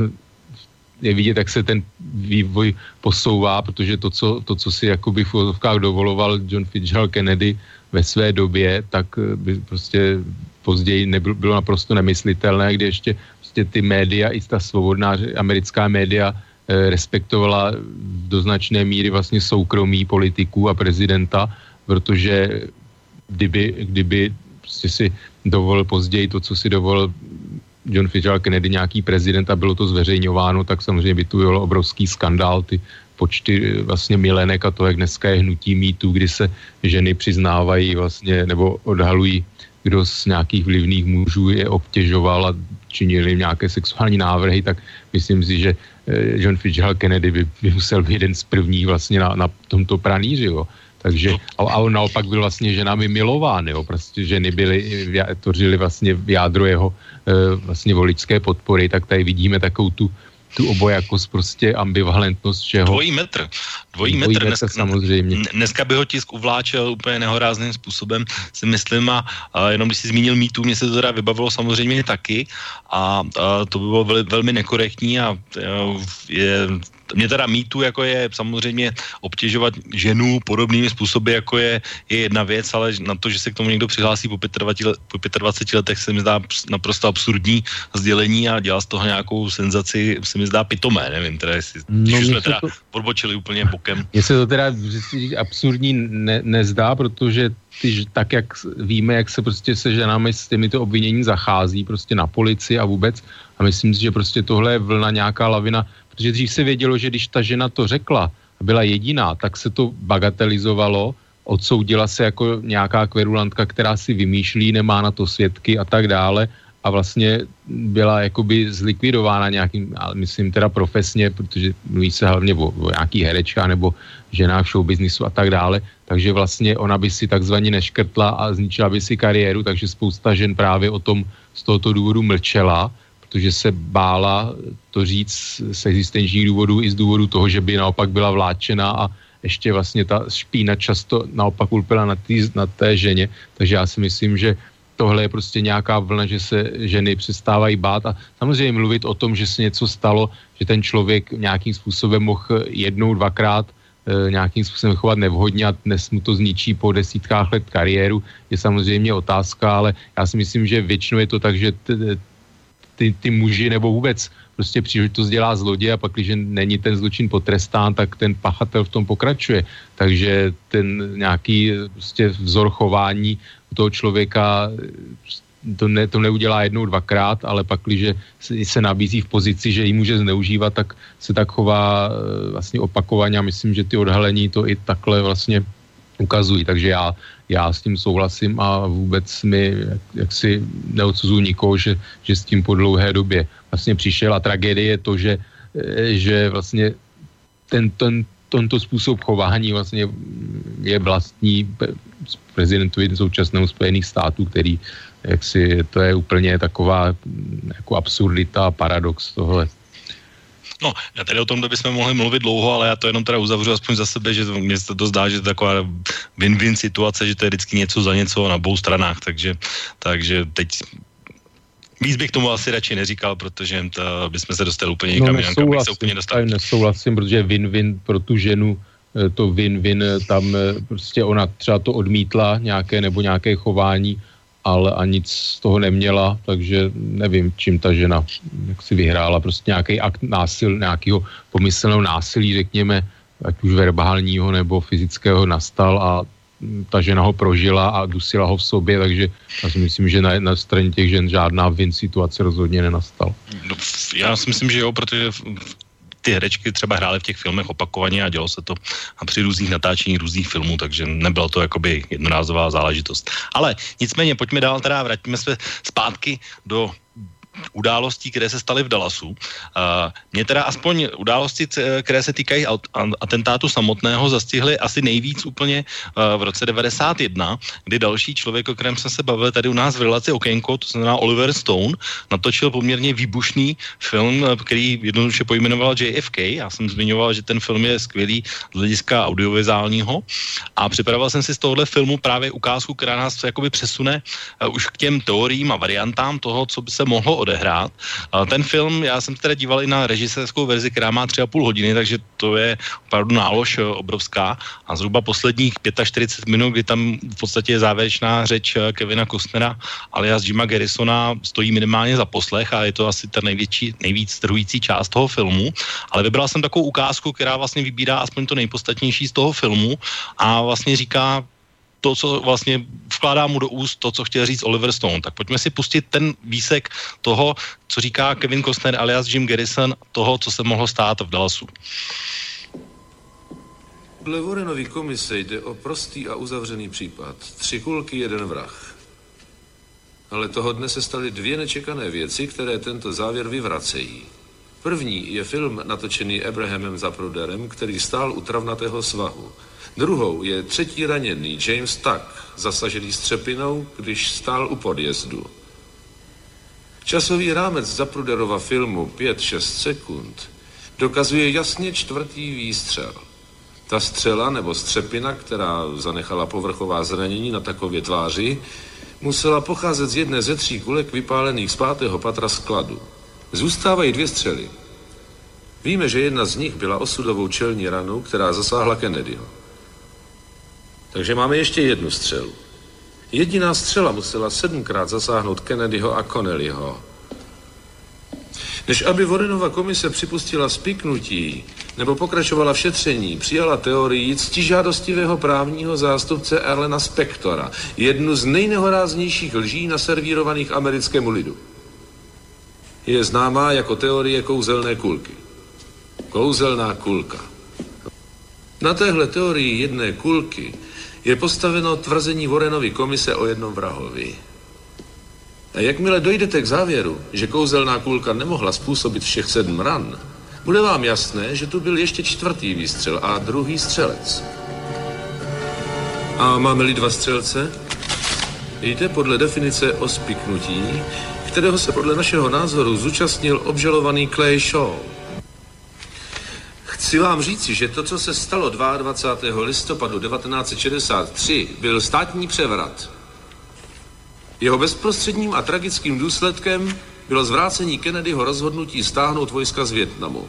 je vidět, jak se ten vývoj posouvá, protože to, co, to, co si jakoby v úvodovkách dovoloval John Fitzgerald Kennedy ve své době, tak by prostě později nebylo, bylo naprosto nemyslitelné, kdy ještě prostě ty média, i ta svobodná americká média respektovala do značné míry vlastně soukromí politiků a prezidenta, protože kdyby, kdyby prostě si dovolil později to, co si dovolil John Fitzgerald Kennedy, nějaký prezident a bylo to zveřejňováno, tak samozřejmě by tu byl obrovský skandál, ty počty vlastně milenek a to, jak dneska je hnutí mýtu, kdy se ženy přiznávají vlastně nebo odhalují, kdo z nějakých vlivných mužů je obtěžoval a činili nějaké sexuální návrhy, tak myslím si, že John Fitzgerald Kennedy by, by musel být jeden z prvních vlastně na, na tomto pranýři, jo. Takže, a, a on naopak byl vlastně ženami milován, jo. Prostě ženy byly, tvořily vlastně jádro jeho vlastně voličské podpory, tak tady vidíme takovou tu tu obojakost, prostě ambivalentnost všeho. Dvojí metr. Dvojí, Dvojí metr, metr samozřejmě. Dneska by ho tisk uvláčel úplně nehorázným způsobem, si myslím, a, a jenom když si zmínil mýtu, mě se to teda vybavilo samozřejmě taky a, a to by bylo vel, velmi nekorektní a je... Mě teda mýtu, jako je samozřejmě obtěžovat ženu podobnými způsoby, jako je, je jedna věc, ale na to, že se k tomu někdo přihlásí po dvaceti letech, se mi zdá naprosto absurdní sdělení a dělá z toho nějakou senzaci, se mi zdá pitomé, nevím, teda jestli, no, když jsme teda to... odbočili úplně bokem. Mně se to teda absurdní ne, nezdá, protože ty, tak, jak víme, jak se prostě se ženami s těmito obvinění zachází prostě na policii a vůbec a myslím si, že prostě tohle je vlna nějaká lavina. Protože dřív se vědělo, že když ta žena to řekla a byla jediná, tak se to bagatelizovalo, odsoudila se jako nějaká kverulantka, která si vymýšlí, nemá na to svědky a tak dále a vlastně byla jakoby zlikvidována nějakým, ale myslím teda profesně, protože mluví se hlavně o, o nějaký herečka nebo ženách v showbiznisu a tak dále, takže vlastně ona by si takzvaně neškrtla a zničila by si kariéru, takže spousta žen právě o tom z tohoto důvodu mlčela, protože se bála to říct z existenčních důvodů i z důvodu toho, že by naopak byla vláčena a ještě vlastně ta špína často naopak ulpěla na, tý, na té ženě, takže já si myslím, že tohle je prostě nějaká vlna, že se ženy přestávají bát a samozřejmě mluvit o tom, že se něco stalo, že ten člověk nějakým způsobem mohl jednou, dvakrát e, nějakým způsobem chovat nevhodně a dnes mu to zničí po desítkách let kariéru, je samozřejmě otázka, ale já si myslím, že většinou je to tak, že t, ty, ty muži nebo vůbec prostě příležitost dělá zloděj a pak, když není ten zločin potrestán, tak ten pachatel v tom pokračuje. Takže ten nějaký prostě vzor chování toho člověka to, ne, to neudělá jednou, dvakrát, ale pak, když se nabízí v pozici, že ji může zneužívat, tak se tak chová vlastně opakovaně a myslím, že ty odhalení to i takhle vlastně ukazují. Takže já, já s tím souhlasím a vůbec mi jak, jaksi neodsuzuji nikoho, že, že s tím po dlouhé době vlastně přišel a tragédie je to, že, že vlastně ten, ten, tento způsob chování vlastně je vlastní prezidentovi současného Spojených států, který jaksi, to je úplně taková jako absurdita a paradox tohle. No, já tady o tom bychom mohli mluvit dlouho, ale já to jenom teda uzavřu aspoň za sebe, že mně se to zdá, že to je taková win-win situace, že to je vždycky něco za něco na obou stranách, takže, takže teď víc bych tomu asi radši neříkal, protože to, bychom se dostali úplně někam, no, jinam, kam bych se úplně dostal. Nesouhlasím, protože win-win pro tu ženu, to win-win, tam prostě ona třeba to odmítla nějaké nebo nějaké chování, ale a nic z toho neměla, takže nevím, čím ta žena jak si vyhrála, prostě nějaký akt násil, nějakého pomyslného násilí, řekněme, ať už verbálního nebo fyzického nastal a ta žena ho prožila a dusila ho v sobě, takže já si myslím, že na, na straně těch žen žádná win situace rozhodně nenastala. No, já si myslím, že jo, protože ty herečky třeba hrály v těch filmech opakovaně a dělo se to a při různých natáčeních různých filmů, takže nebyla to jakoby jednorázová záležitost. Ale nicméně pojďme dál, teda vrátíme se zpátky do událostí, které se staly v Dallasu. Uh, mě teda aspoň události, které se týkají atentátu samotného, zastihly asi nejvíc úplně uh, v roce devadesát jedna, kdy další člověk, o kterém jsme se bavili tady u nás v relaci Okénko, to znamená Oliver Stone, natočil poměrně výbušný film, který jednoduše pojmenoval J F K. Já jsem zmiňoval, že ten film je skvělý z hlediska audiovizuálního a připravoval jsem si z tohohle filmu právě ukázku, která nás jakoby přesune uh, už k těm teoriím a variantám toho, co by se mohlo odehrát. Ten film, já jsem teda díval i na režisérskou verzi, která má tři a půl hodiny, takže to je opravdu nálož obrovská a zhruba posledních čtyřicet pět minut, kdy tam v podstatě je závěrečná řeč Kevina Costnera alias Jima Garrisona, stojí minimálně za poslech a je to asi ta největší, nejvíc strhující část toho filmu, ale vybral jsem takovou ukázku, která vlastně vybírá aspoň to nejpodstatnější z toho filmu a vlastně říká to, co vlastně vkládá mu do úst to, co chtěl říct Oliver Stone. Tak pojďme si pustit ten výsek toho, co říká Kevin Costner alias Jim Garrison, toho, co se mohlo stát v Dallasu. Dle Warrenovy komise jde o prostý a uzavřený případ. Tři kulky, jeden vrah. Ale toho dne se staly dvě nečekané věci, které tento závěr vyvracejí. První je film natočený Abrahamem Zapruderem, který stál u travnatého svahu. Druhou je třetí raněný James Tuck, zasažený střepinou, když stál u podjezdu. Časový rámec Zapruderova filmu pět šest sekund dokazuje jasně čtvrtý výstřel. Ta střela nebo střepina, která zanechala povrchová zranění na takové tváři, musela pocházet z jedné ze tří kulek vypálených z pátého patra skladu. Zůstávají dvě střely. Víme, že jedna z nich byla osudovou čelní ranou, která zasáhla Kennedyho. Takže máme ještě jednu střelu. Jediná střela musela sedmkrát zasáhnout Kennedyho a Connellyho. Než aby Warrenova komise připustila spiknutí nebo pokračovala v šetření, přijala teorii ctižádostivého právního zástupce Erlena Spectora, jednu z nejnehoráznějších lží naservírovaných americkému lidu. Je známá jako teorie kouzelné kulky. Kouzelná kulka. Na téhle teorii jedné kulky je postaveno tvrzení Warrenovy komise o jednom vrahovi. A jakmile dojdete k závěru, že kouzelná kulka nemohla způsobit všech sedm ran, bude vám jasné, že tu byl ještě čtvrtý výstřel a druhý střelec. A máme-li dva střelce? Jde podle definice o spiknutí, kterého se podle našeho názoru zúčastnil obžalovaný Clay Shaw. Chci vám říci, že to, co se stalo dvacátého druhého listopadu devatenáct set šedesát tři, byl státní převrat. Jeho bezprostředním a tragickým důsledkem bylo zvrácení Kennedyho rozhodnutí stáhnout vojska z Vietnamu.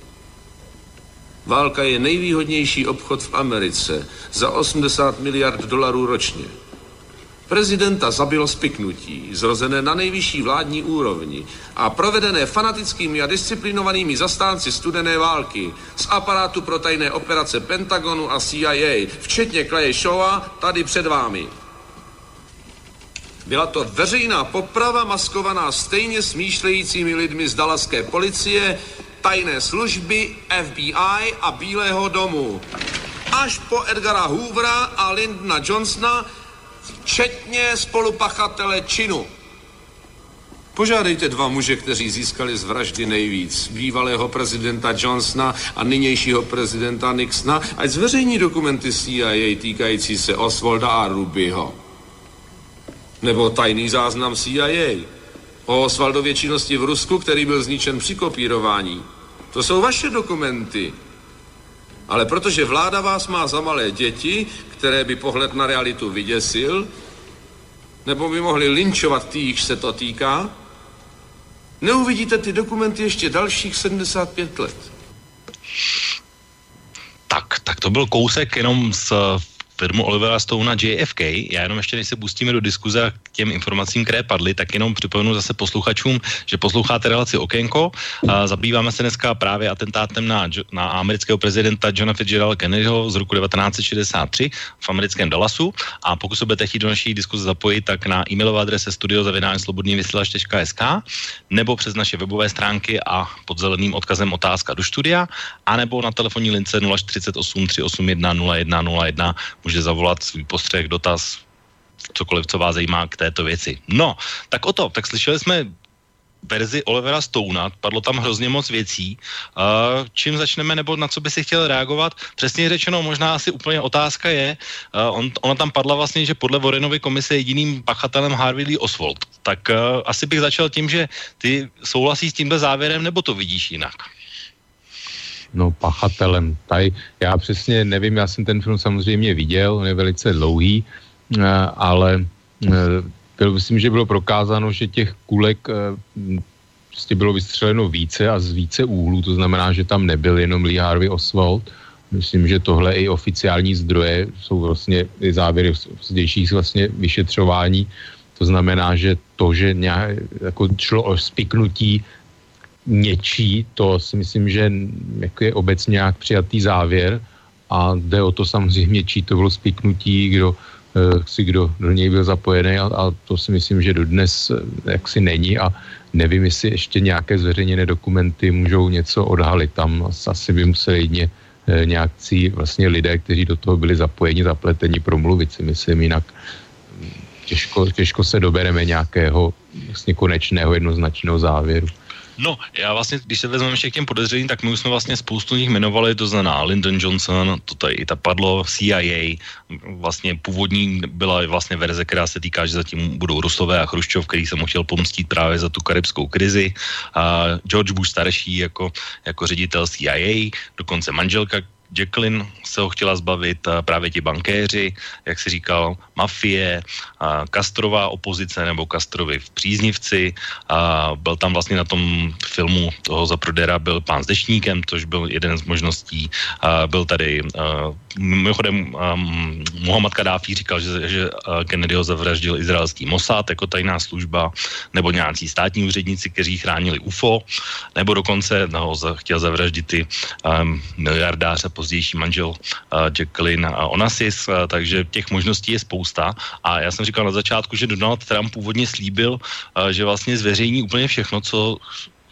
Válka je nejvýhodnější obchod v Americe za osmdesát miliard dolarů ročně. Prezidenta zabilo spiknutí, zrozené na nejvyšší vládní úrovni a provedené fanatickými a disciplinovanými zastánci studené války z aparátu pro tajné operace Pentagonu a C I A, včetně Claye Shawa, tady před vámi. Byla to veřejná poprava maskovaná stejně smýšlejícími lidmi z dalaské policie, tajné služby, F B I a Bílého domu. Až po Edgara Hoovera a Lyndona Johnsona, včetně spolupachatele činu. Požádejte dva muže, kteří získali z vraždy nejvíc, bývalého prezidenta Johnsona a nynějšího prezidenta Nixona, ať zveřejní dokumenty C I A týkající se Oswalda a Rubyho. Nebo tajný záznam C I A o Oswaldově činnosti v Rusku, který byl zničen při kopírování. To jsou vaše dokumenty. Ale protože vláda vás má za malé děti, které by pohled na realitu vyděsil, nebo by mohli lynčovat ty, jichž se to týká, neuvidíte ty dokumenty ještě dalších sedmdesát pět let. Tak, tak to byl kousek jenom z firmu Olivera Stonea J F K. Já jenom ještě, než se pustíme do diskuze k těm informacím, které padly, tak jenom připomenu zase posluchačům, že posloucháte relaci Okénko. A zabýváme se dneska právě atentátem na, na amerického prezidenta Johna Fitzgeralda Kennedyho z roku devatenáct set šedesát tři v americkém Dallasu. A pokud se budete chtít do naší diskuze zapojit, tak na e-mailové adrese studio zavináč slobodný vysílač tečka es ká nebo přes naše webové stránky a pod zeleným odkazem otázka do studia, anebo na telefonní lince nula čtyřicet osm tři osm jedna nula jedna nula jedna může zavolat svůj postřeh, dotaz, cokoliv, co vás zajímá k této věci. No, tak o to, tak slyšeli jsme verzi Olivera Stonea, padlo tam hrozně moc věcí. Uh, čím začneme, nebo na co by si chtěl reagovat? Přesně řečeno, možná asi úplně otázka je, uh, on, ona tam padla vlastně, že podle Warrenovy komise jediným pachatelem Harvey Lee Oswald. Tak uh, asi bych začal tím, že ty souhlasíš s tímhle závěrem, nebo to vidíš jinak? No, pachatelem. Tady já přesně nevím, já jsem ten film samozřejmě viděl, on je velice dlouhý, ale byl, myslím, že bylo prokázáno, že těch kulek prostě bylo vystřeleno více a z více úhlů, to znamená, že tam nebyl jenom Lee Harvey Oswald. Myslím, že tohle i oficiální zdroje jsou vlastně i závěry zdejších vlastně vyšetřování. To znamená, že to, že nějak, jako šlo o spiknutí něčí, to si myslím, že jako je obecně nějak přijatý závěr a jde o to samozřejmě, čí to bylo spiknutí, kdo si kdo do něj byl zapojený a, a to si myslím, že dodnes jaksi není a nevím, jestli ještě nějaké zveřejněné dokumenty můžou něco odhalit. Tam asi by museli jedně nějakcí vlastně lidé, kteří do toho byli zapojeni, zapleteni, promluvit si myslím, jinak těžko, těžko se dobereme nějakého vlastně konečného jednoznačného závěru. No, já vlastně, když se vezmeme ještě k těm podezřelým, tak my už jsme vlastně spoustu nich jmenovali, to znamená Lyndon Johnson, to tady i ta padlo, C I A, vlastně původní byla vlastně verze, která se týká, že zatím budou Rusové a Chruščov, který se mu chtěl pomstít právě za tu karibskou krizi, a George Bush starší jako, jako ředitel C I A, dokonce manželka Jacqueline se ho chtěla zbavit, právě ti bankéři, jak si říkal, mafie, Castrová opozice nebo Castrovi v příznivci. A byl tam vlastně na tom filmu toho Zaprodera byl pán s dešníkem, což byl jeden z možností. A byl tady, mimochodem, Muhammad Kadáfi říkal, že, že Kennedyho zavraždil izraelský Mossad jako tajná služba, nebo nějací státní úředníci, kteří chránili U F O, nebo dokonce no, chtěl zavraždit ty um, miliardáře, pozdější manžel uh, Jacqueline uh, Onassis, uh, takže těch možností je spousta. A já jsem říkal na začátku, že Donald Trump původně slíbil, uh, že vlastně zveřejní úplně všechno, co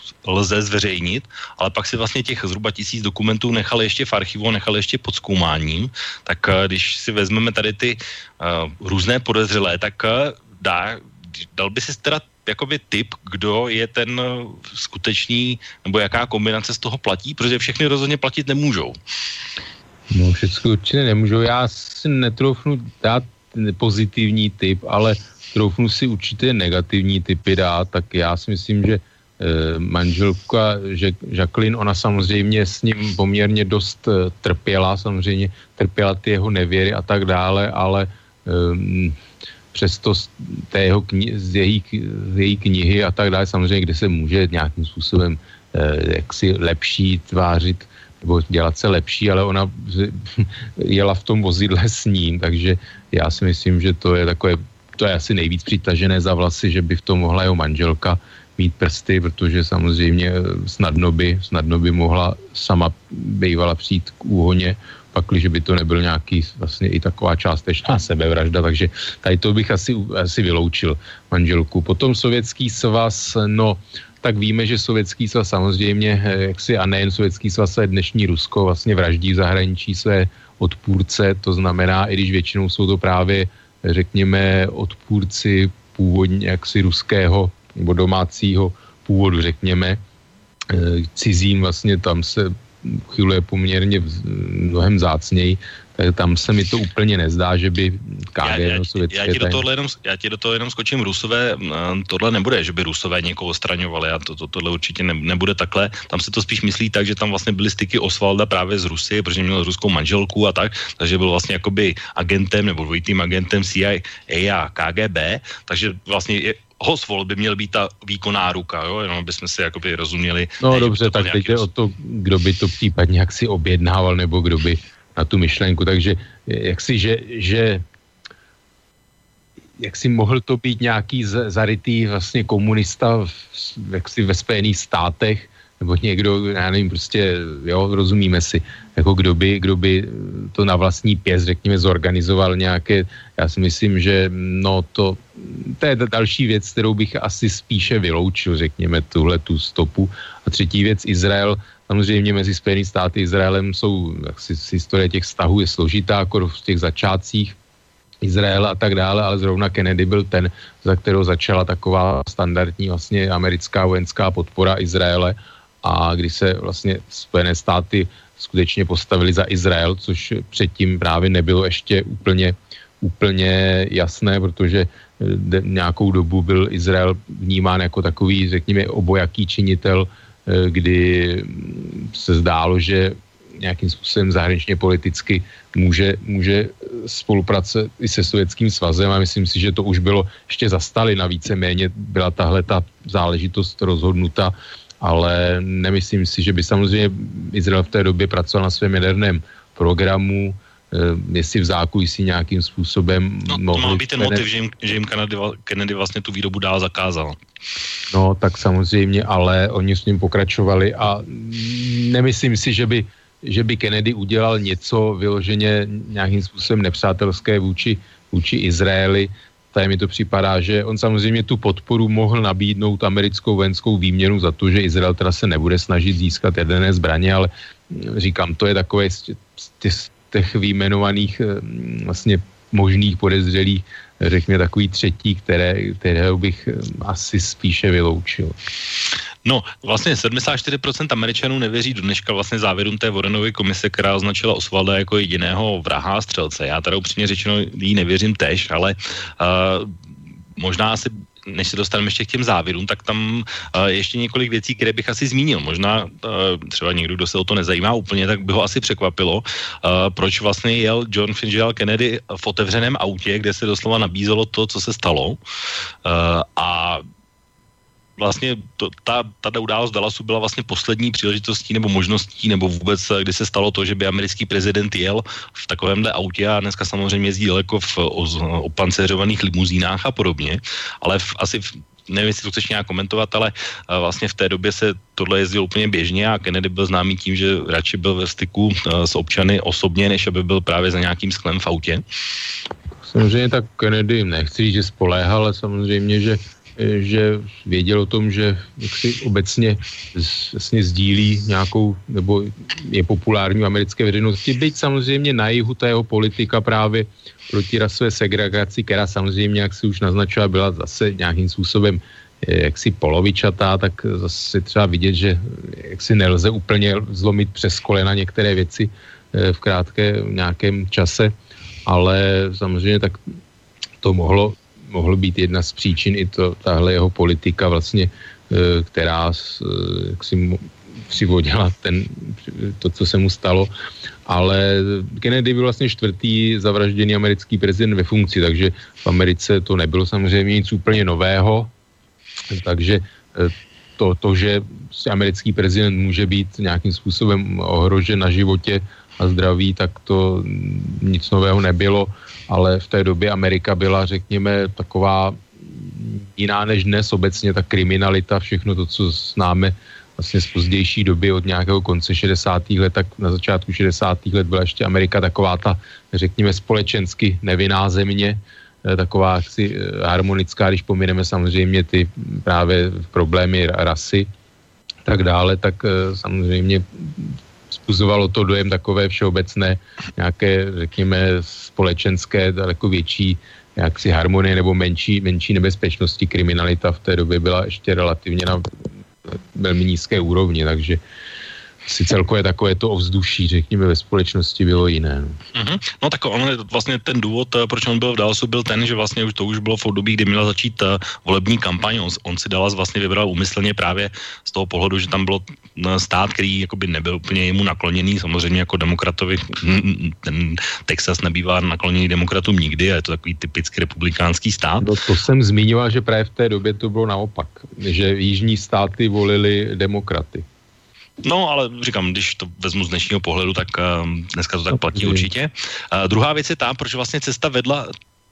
lze zveřejnit, ale pak si vlastně těch zhruba tisíc dokumentů nechali ještě v archivu, nechali ještě pod zkoumáním, tak když si vezmeme tady ty uh, různé podezřelé, tak uh, dá, dal by si teda jakoby tip, kdo je ten skutečný, nebo jaká kombinace z toho platí, protože všechny rozhodně platit nemůžou. No, všechno určitě nemůžou. Já si netroufnu dát pozitivní tip, ale troufnu si určitě negativní typy dát, tak já si myslím, že eh, manželka že Jacqueline, ona samozřejmě s ním poměrně dost eh, trpěla, samozřejmě trpěla ty jeho nevěry a tak dále, ale eh, přesto z, té jeho kni- z, její, z její knihy a tak dále, samozřejmě, kde se může nějakým způsobem eh, jaksi lepší tvářit nebo dělat se lepší, ale ona jela v tom vozidle s ním, takže já si myslím, že to je takové, to je asi nejvíc přitažené za vlasy, že by v tom mohla jeho manželka mít prsty, protože samozřejmě snadno by, snadno by mohla sama bývala přijít k úhoně, pakliže by to nebyl nějaký vlastně i taková částečná sebevražda, takže tady to bych asi, asi vyloučil manželku. Potom Sovětský svaz, no tak víme, že Sovětský svaz samozřejmě, jaksi a nejen Sovětský svaz, ale dnešní Rusko vlastně vraždí v zahraničí své odpůrce, to znamená, i když většinou jsou to právě, řekněme, odpůrci původně jaksi ruského nebo domácího původu, řekněme, cizím vlastně tam se uchyluje poměrně mnohem vzácněji, tak tam se mi to úplně nezdá, že by K G B sovětské... Já, já, já, jenom, já ti do toho jenom skočím, Rusové, tohle nebude, že by Rusové někoho odstraňovali a to, to, tohle určitě ne, nebude takhle. Tam se to spíš myslí tak, že tam vlastně byly styky Osvalda právě z Rusy, protože měl ruskou manželku a tak, takže byl vlastně jakoby agentem nebo dvojitým agentem C I A a K G B, takže vlastně je, Oswald by měl být ta výkonná ruka, jo, jenom bychom si jakoby rozuměli. No ne, dobře, tak teď je o to, kdo by to případně jaksi objednával, nebo kdo by na tu myšlenku, takže jak si, že, že jak si mohl to být nějaký z, zarytý vlastně komunista v, jak si ve Spojených státech, nebo někdo, já nevím, prostě, jo, rozumíme si, jako kdo by, kdo by to na vlastní pěst, řekněme, zorganizoval nějaké, já si myslím, že no to, to je další věc, kterou bych asi spíše vyloučil, řekněme, tuhle tu stopu. A třetí věc, Izrael, samozřejmě mezi Spojenými státy a Izraelem jsou, jak si, historie těch vztahů je složitá, jako v těch začátcích Izraela a tak dále, ale zrovna Kennedy byl ten, za kterou začala taková standardní vlastně americká vojenská podpora Izraele, a když se vlastně Spojené státy skutečně postavili za Izrael, což předtím právě nebylo ještě úplně, úplně jasné, protože nějakou dobu byl Izrael vnímán jako takový, řekněme, obojaký činitel, kdy se zdálo, že nějakým způsobem zahraničně politicky může, může spolupracovat i se Sovětským svazem, a myslím si, že to už bylo ještě za Stalina víceméně byla tahle ta záležitost rozhodnuta, ale nemyslím si, že by samozřejmě Izrael v té době pracoval na svém jaderném programu, jestli v zákulisí nějakým způsobem... No, to má být ten motiv, že jim, že jim Kennedy, Kennedy vlastně tu výrobu dál zakázal. No, tak samozřejmě, ale oni s ním pokračovali a nemyslím si, že by, že by Kennedy udělal něco vyloženě nějakým způsobem nepřátelské vůči, vůči Izraeli. Tady mi to připadá, že on samozřejmě tu podporu mohl nabídnout americkou vojenskou výměnu za to, že Izrael teda se nebude snažit získat jaderné zbraně, ale říkám, to je takové z těch výjmenovaných vlastně možných podezřelých, řekněme takový třetí, které, kterého bych asi spíše vyloučil. No, vlastně sedmdesát čtyři procent Američanů nevěří do dneška vlastně závěrům té Warrenovy komise, která označila Osvalda jako jediného vraha a střelce. Já teda upřímně řečeno jí nevěřím tež, ale uh, možná asi, než se dostaneme ještě k těm závěrům, tak tam uh, ještě několik věcí, které bych asi zmínil. Možná uh, třeba někdo, kdo se o to nezajímá úplně, tak by ho asi překvapilo, uh, proč vlastně jel John Fitzgerald Kennedy v otevřeném autě, kde se doslova nabízelo to, co se stalo. Uh, a vlastně to, ta, ta událost Dallasu byla vlastně poslední příležitostí nebo možností, nebo vůbec, kdy se stalo to, že by americký prezident jel v takovémhle autě, a dneska samozřejmě jezdí daleko v opanceřovaných limuzínách a podobně, ale v, asi v, nevím, jestli to chceš nějak komentovat, ale vlastně v té době se tohle jezdilo úplně běžně a Kennedy byl známý tím, že radši byl ve styku s občany osobně, než aby byl právě za nějakým sklem v autě. samozřejmě tak Kennedy, nechci říct, že spoléhal, ale samozřejmě, že, že věděl o tom, že jaksi obecně vlastně sdílí nějakou, nebo je populární v americké veřejnosti, byť samozřejmě na jihu ta jeho politika právě proti rasové segregaci, která samozřejmě, jak si už naznačila, byla zase nějakým způsobem jaksi polovičatá, tak zase třeba vidět, že jaksi nelze úplně zlomit přes kolena některé věci v krátkém nějakém čase, ale samozřejmě tak to mohlo, mohlo být jedna z příčin i to, tahle jeho politika vlastně, která jaksi přivodila ten, to, co se mu stalo, ale Kennedy byl vlastně čtvrtý zavražděný americký prezident ve funkci, takže v Americe to nebylo samozřejmě nic úplně nového, takže to, to že americký prezident může být nějakým způsobem ohrožen na životě a zdraví, tak to nic nového nebylo, ale v té době Amerika byla, řekněme, taková jiná než dnes obecně, ta kriminalita, všechno to, co známe vlastně z pozdější doby od nějakého konce šedesátých let, tak na začátku šedesátých let byla ještě Amerika taková ta, řekněme, společensky nevinná země, taková jaksi harmonická, když pomineme samozřejmě ty právě problémy rasy, tak dále, tak samozřejmě způsobovalo to dojem takové všeobecné, nějaké, řekněme, společenské, daleko větší jaksi harmonie nebo menší, menší nebezpečnosti. Kriminalita v té době byla ještě relativně na velmi nízké úrovni, takže si celkově takové to ovzduší, řekněme, ve společnosti bylo jiné. No, mm-hmm. No tak on vlastně ten důvod, proč on byl v Dallasu, byl ten, že vlastně už to už bylo v období, kdy měla začít uh, volební kampaň. On, on si Dallas vlastně vybral úmyslně právě z toho pohledu, že tam bylo stát, který jakoby nebyl úplně jemu nakloněný, samozřejmě jako demokratovi, ten Texas nebývá nakloněný demokratům nikdy a je to takový typický republikánský stát. No, to jsem zmiňoval, že právě v té době to bylo naopak, že jižní státy volili demokraty. No, ale říkám, když to vezmu z dnešního pohledu, tak uh, dneska to tak platí určitě. Uh, druhá věc je ta, proč vlastně cesta vedla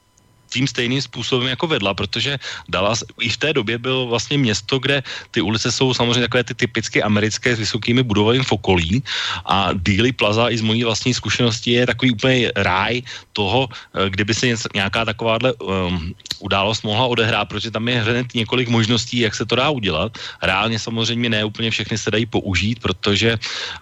tím stejným způsobem jako vedla, protože Dallas i v té době byl vlastně město, kde ty ulice jsou samozřejmě takové ty typicky americké s vysokými budovami v okolí a Dealey Plaza i z mojí vlastní zkušenosti je takový úplně ráj toho, kdyby se nějaká takováhle um, událost mohla odehrát, protože tam je hned několik možností, jak se to dá udělat. Reálně samozřejmě ne úplně všechny se dají použít, protože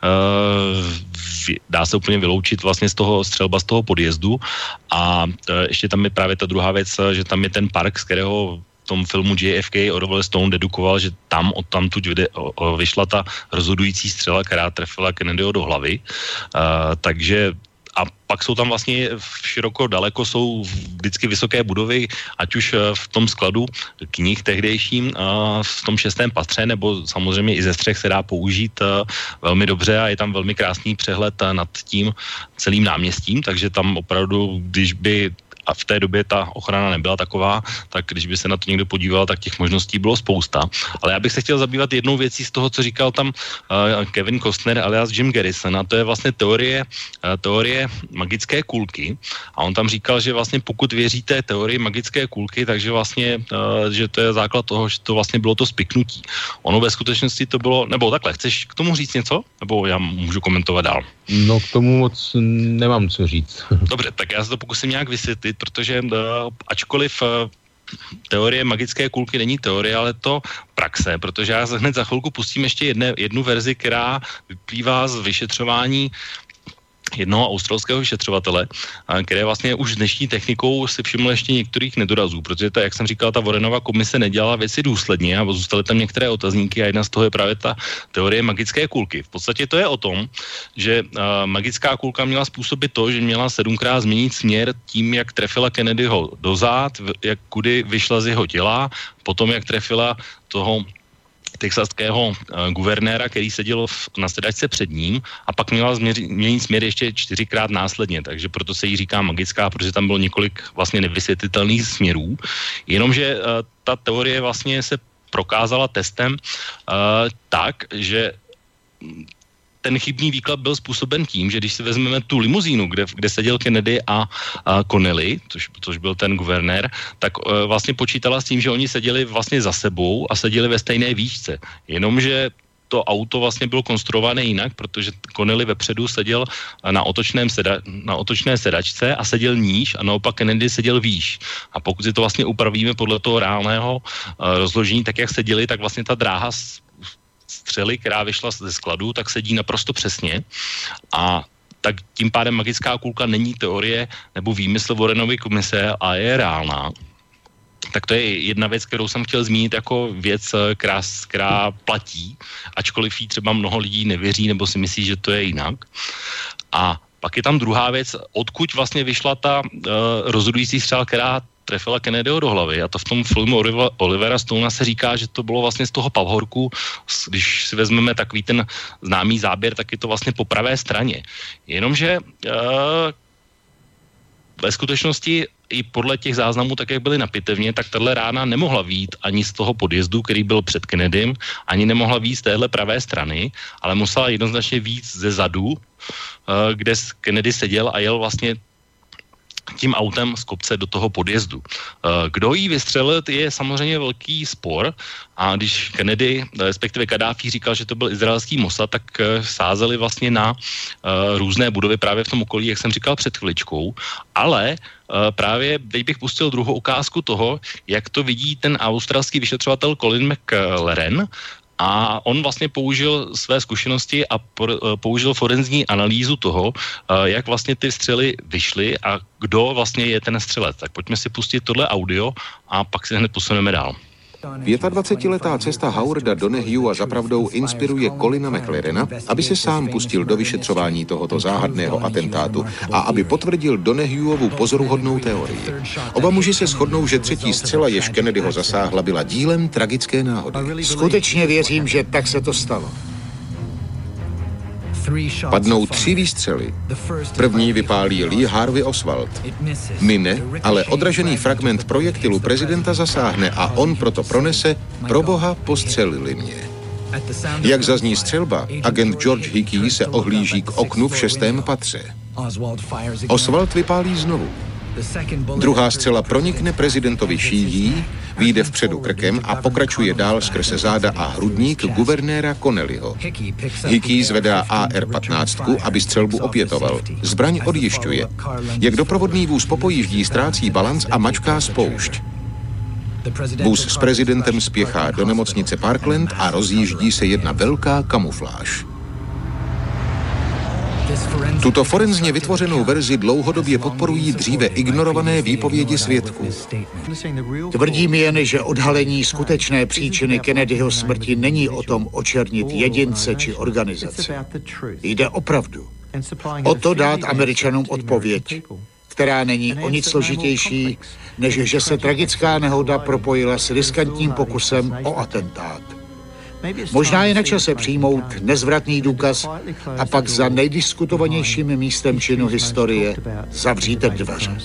uh, dá se úplně vyloučit vlastně z toho střelba z toho podjezdu a uh, ještě tam je právě ta druhá věc, že tam je ten park, z kterého v tom filmu J F K Oliver Stone dedukoval, že tam odtamtud vyšla ta rozhodující střela, která trefila Kennedyho do hlavy. Uh, takže a pak jsou tam vlastně široko daleko jsou vždycky vysoké budovy, ať už v tom skladu knih tehdejším v tom šestém patře, nebo samozřejmě i ze střech se dá použít velmi dobře a je tam velmi krásný přehled nad tím celým náměstím, takže tam opravdu, když by a v té době ta ochrana nebyla taková, tak když by se na to někdo podíval, tak těch možností bylo spousta. Ale já bych se chtěl zabývat jednou věcí z toho, co říkal tam uh, Kevin Costner alias Jim Garrison, a to je vlastně teorie, uh, teorie magické kulky. A on tam říkal, že vlastně pokud věříte teorii magické kulky, takže vlastně, uh, že to je základ toho, že to vlastně bylo to spiknutí. Ono ve skutečnosti to bylo, nebo takhle, chceš k tomu říct něco? Nebo já můžu komentovat dál? No k tomu moc nemám co říct. Dobře, tak já se to pokusím nějak vysvětlit, protože uh, ačkoliv uh, teorie magické kulky není teorie, ale to praxe, protože já hned za chvilku pustím ještě jedne, jednu verzi, která vyplývá z vyšetřování jednoho australského vyšetřovatele, které vlastně už dnešní technikou si všiml ještě některých nedorazů, protože ta, jak jsem říkal, ta Warrenova komise nedělala věci důsledně a zůstaly tam některé otazníky a jedna z toho je právě ta teorie magické kulky. V podstatě to je o tom, že uh, magická kulka měla způsobit to, že měla sedmkrát změnit směr tím, jak trefila Kennedyho do zád, jak kudy vyšla z jeho těla, potom jak trefila toho texaského uh, guvernéra, který seděl v, na sedačce před ním a pak měla změnit směr ještě čtyřikrát následně, takže proto se jí říká magická, protože tam bylo několik vlastně nevysvětlitelných směrů, jenomže uh, ta teorie vlastně se prokázala testem uh, tak, že ten chybný výklad byl způsoben tím, že když si vezmeme tu limuzínu, kde, kde seděl Kennedy a, a Connelly, což, což byl ten guvernér, tak e, vlastně počítala s tím, že oni seděli vlastně za sebou a seděli ve stejné výšce. Jenomže to auto vlastně bylo konstruované jinak, protože Connelly vepředu seděl na, otočném seda, na otočné sedačce a seděl níž a naopak Kennedy seděl výš. A pokud si to vlastně upravíme podle toho reálného uh, rozložení, tak jak seděli, tak vlastně ta dráha střely, která vyšla ze skladu, tak sedí naprosto přesně a tak tím pádem magická kulka není teorie nebo výmysl Warrenovy komise a je reálná. Tak to je jedna věc, kterou jsem chtěl zmínit jako věc, která, která platí, ačkoliv jí třeba mnoho lidí nevěří nebo si myslí, že to je jinak. A pak je tam druhá věc, odkud vlastně vyšla ta uh, rozhodující střela, která trefila Kennedyho do hlavy. A to v tom filmu Olivera Stonea se říká, že to bylo vlastně z toho pavhorku, když si vezmeme takový ten známý záběr, tak je to vlastně po pravé straně. Jenomže uh, ve skutečnosti i podle těch záznamů, tak jak byly na pitevně, tak tahle rána nemohla vyjít ani z toho podjezdu, který byl před Kennedym, ani nemohla vyjít z téhle pravé strany, ale musela jednoznačně vyjít ze zadu, kde Kennedy seděl a jel vlastně tím autem z kopce do toho podjezdu. Kdo jí vystřelil, je samozřejmě velký spor a když Kennedy, respektive Kadáfi říkal, že to byl izraelský Mossad, tak sázeli vlastně na různé budovy právě v tom okolí, jak jsem říkal před chviličkou, ale právě teď bych pustil druhou ukázku toho, jak to vidí ten australský vyšetřovatel Colin McLaren. A on vlastně použil své zkušenosti a použil forenzní analýzu toho, jak vlastně ty střely vyšly a kdo vlastně je ten střelec. Tak pojďme si pustit tohle audio a pak si hned posuneme dál. dvacetiletá cesta Howarda Donohuea zapravdou inspiruje Colina McLarena, aby se sám pustil do vyšetřování tohoto záhadného atentátu a aby potvrdil Donohueovu pozoruhodnou teorii. Oba muži se shodnou, že třetí střela, jež Kennedyho zasáhla, byla dílem tragické náhody. Skutečně věřím, že tak se to stalo. Padnou tři výstřely. První vypálí Lee Harvey Oswald. Mine, ale odražený fragment projektilu prezidenta zasáhne a on proto pronese: proboha, postřelili mě. Jak zazní střelba, agent George Hickey se ohlíží k oknu v šestém patře. Oswald vypálí znovu. Druhá střela pronikne prezidentovi šíjí, vyjde vpředu krkem a pokračuje dál skrze záda a hrudník guvernéra Connellyho. Hickey zvedá A R patnáct, aby střelbu opětoval. Zbraň odjišťuje. Jak doprovodný vůz po pojíždí ztrácí balanc a mačká spoušť. Vůz s prezidentem spěchá do nemocnice Parkland a rozjíždí se jedna velká kamufláž. Tuto forenzně vytvořenou verzi dlouhodobě podporují dříve ignorované výpovědi svědků. Tvrdím jen, že odhalení skutečné příčiny Kennedyho smrti není o tom očernit jedince či organizace. Jde opravdu o to dát Američanům odpověď, která není o nic složitější, než že se tragická nehoda propojila s riskantním pokusem o atentát. Možná je na čase přijmout nezvratný důkaz a pak za nejdiskutovanějším místem činu historie zavřít dveře.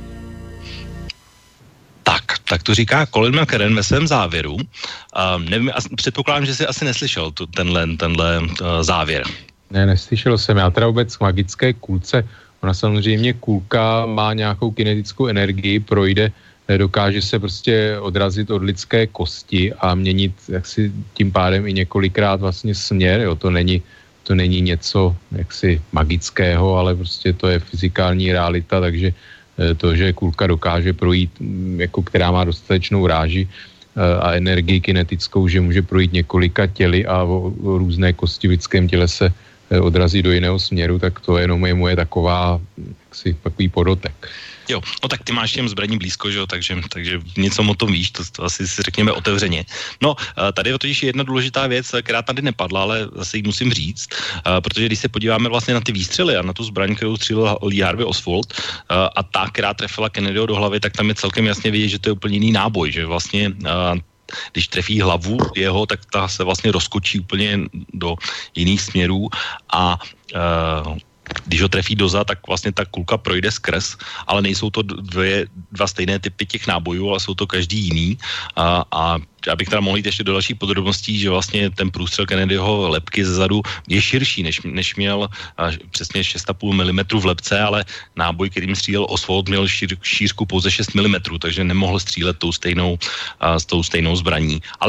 Tak, tak to říká Colin McLaren ve svém závěru. Uh, nevím, předpokládám, že jsi asi neslyšel tu, tenhle, tenhle uh, závěr. Ne, neslyšel jsem. Já teda vůbec k magické kulce. Ona samozřejmě kulka má nějakou kinetickou energii, projde, dokáže se prostě odrazit od lidské kosti a měnit jaksi tím pádem i několikrát vlastně směr, jo, to není, to není něco jaksi magického, ale prostě to je fyzikální realita, takže to, že kulka dokáže projít, jako která má dostatečnou ráži a energii kinetickou, že může projít několika těly a o, o různé kosti v lidském těle se odrazí do jiného směru, tak to jenom je moje taková, jaksi takový podotek. Jo, no tak ty máš těm zbraní blízko, že jo, takže, takže něco o tom víš, to, to asi si řekněme otevřeně. No, tady je totiž jedna důležitá věc, která tady nepadla, ale zase ji musím říct, protože když se podíváme vlastně na ty výstřely a na tu zbraň, kterou střílel Lee Harvey Oswald a ta, která trefila Kennedyho do hlavy, tak tam je celkem jasně vidět, že to je úplně jiný náboj, že vlastně když trefí hlavu jeho, tak ta se vlastně rozkočí úplně do jiných směrů a uh, když ho trefí doza, tak vlastně ta kulka projde skrz, ale nejsou to dvě, dva stejné typy těch nábojů, ale jsou to každý jiný. A, a já bych teda mohl jít ještě do dalších podrobností, že vlastně ten průstřel Kennedyho lebky zezadu je širší, než, než měl a, přesně šest a půl milimetru v lebce, ale náboj, kterým střílel Oswald, měl šíř, šířku pouze šest milimetrů, takže nemohl střílet tou stejnou, a, s tou stejnou zbraní. Ale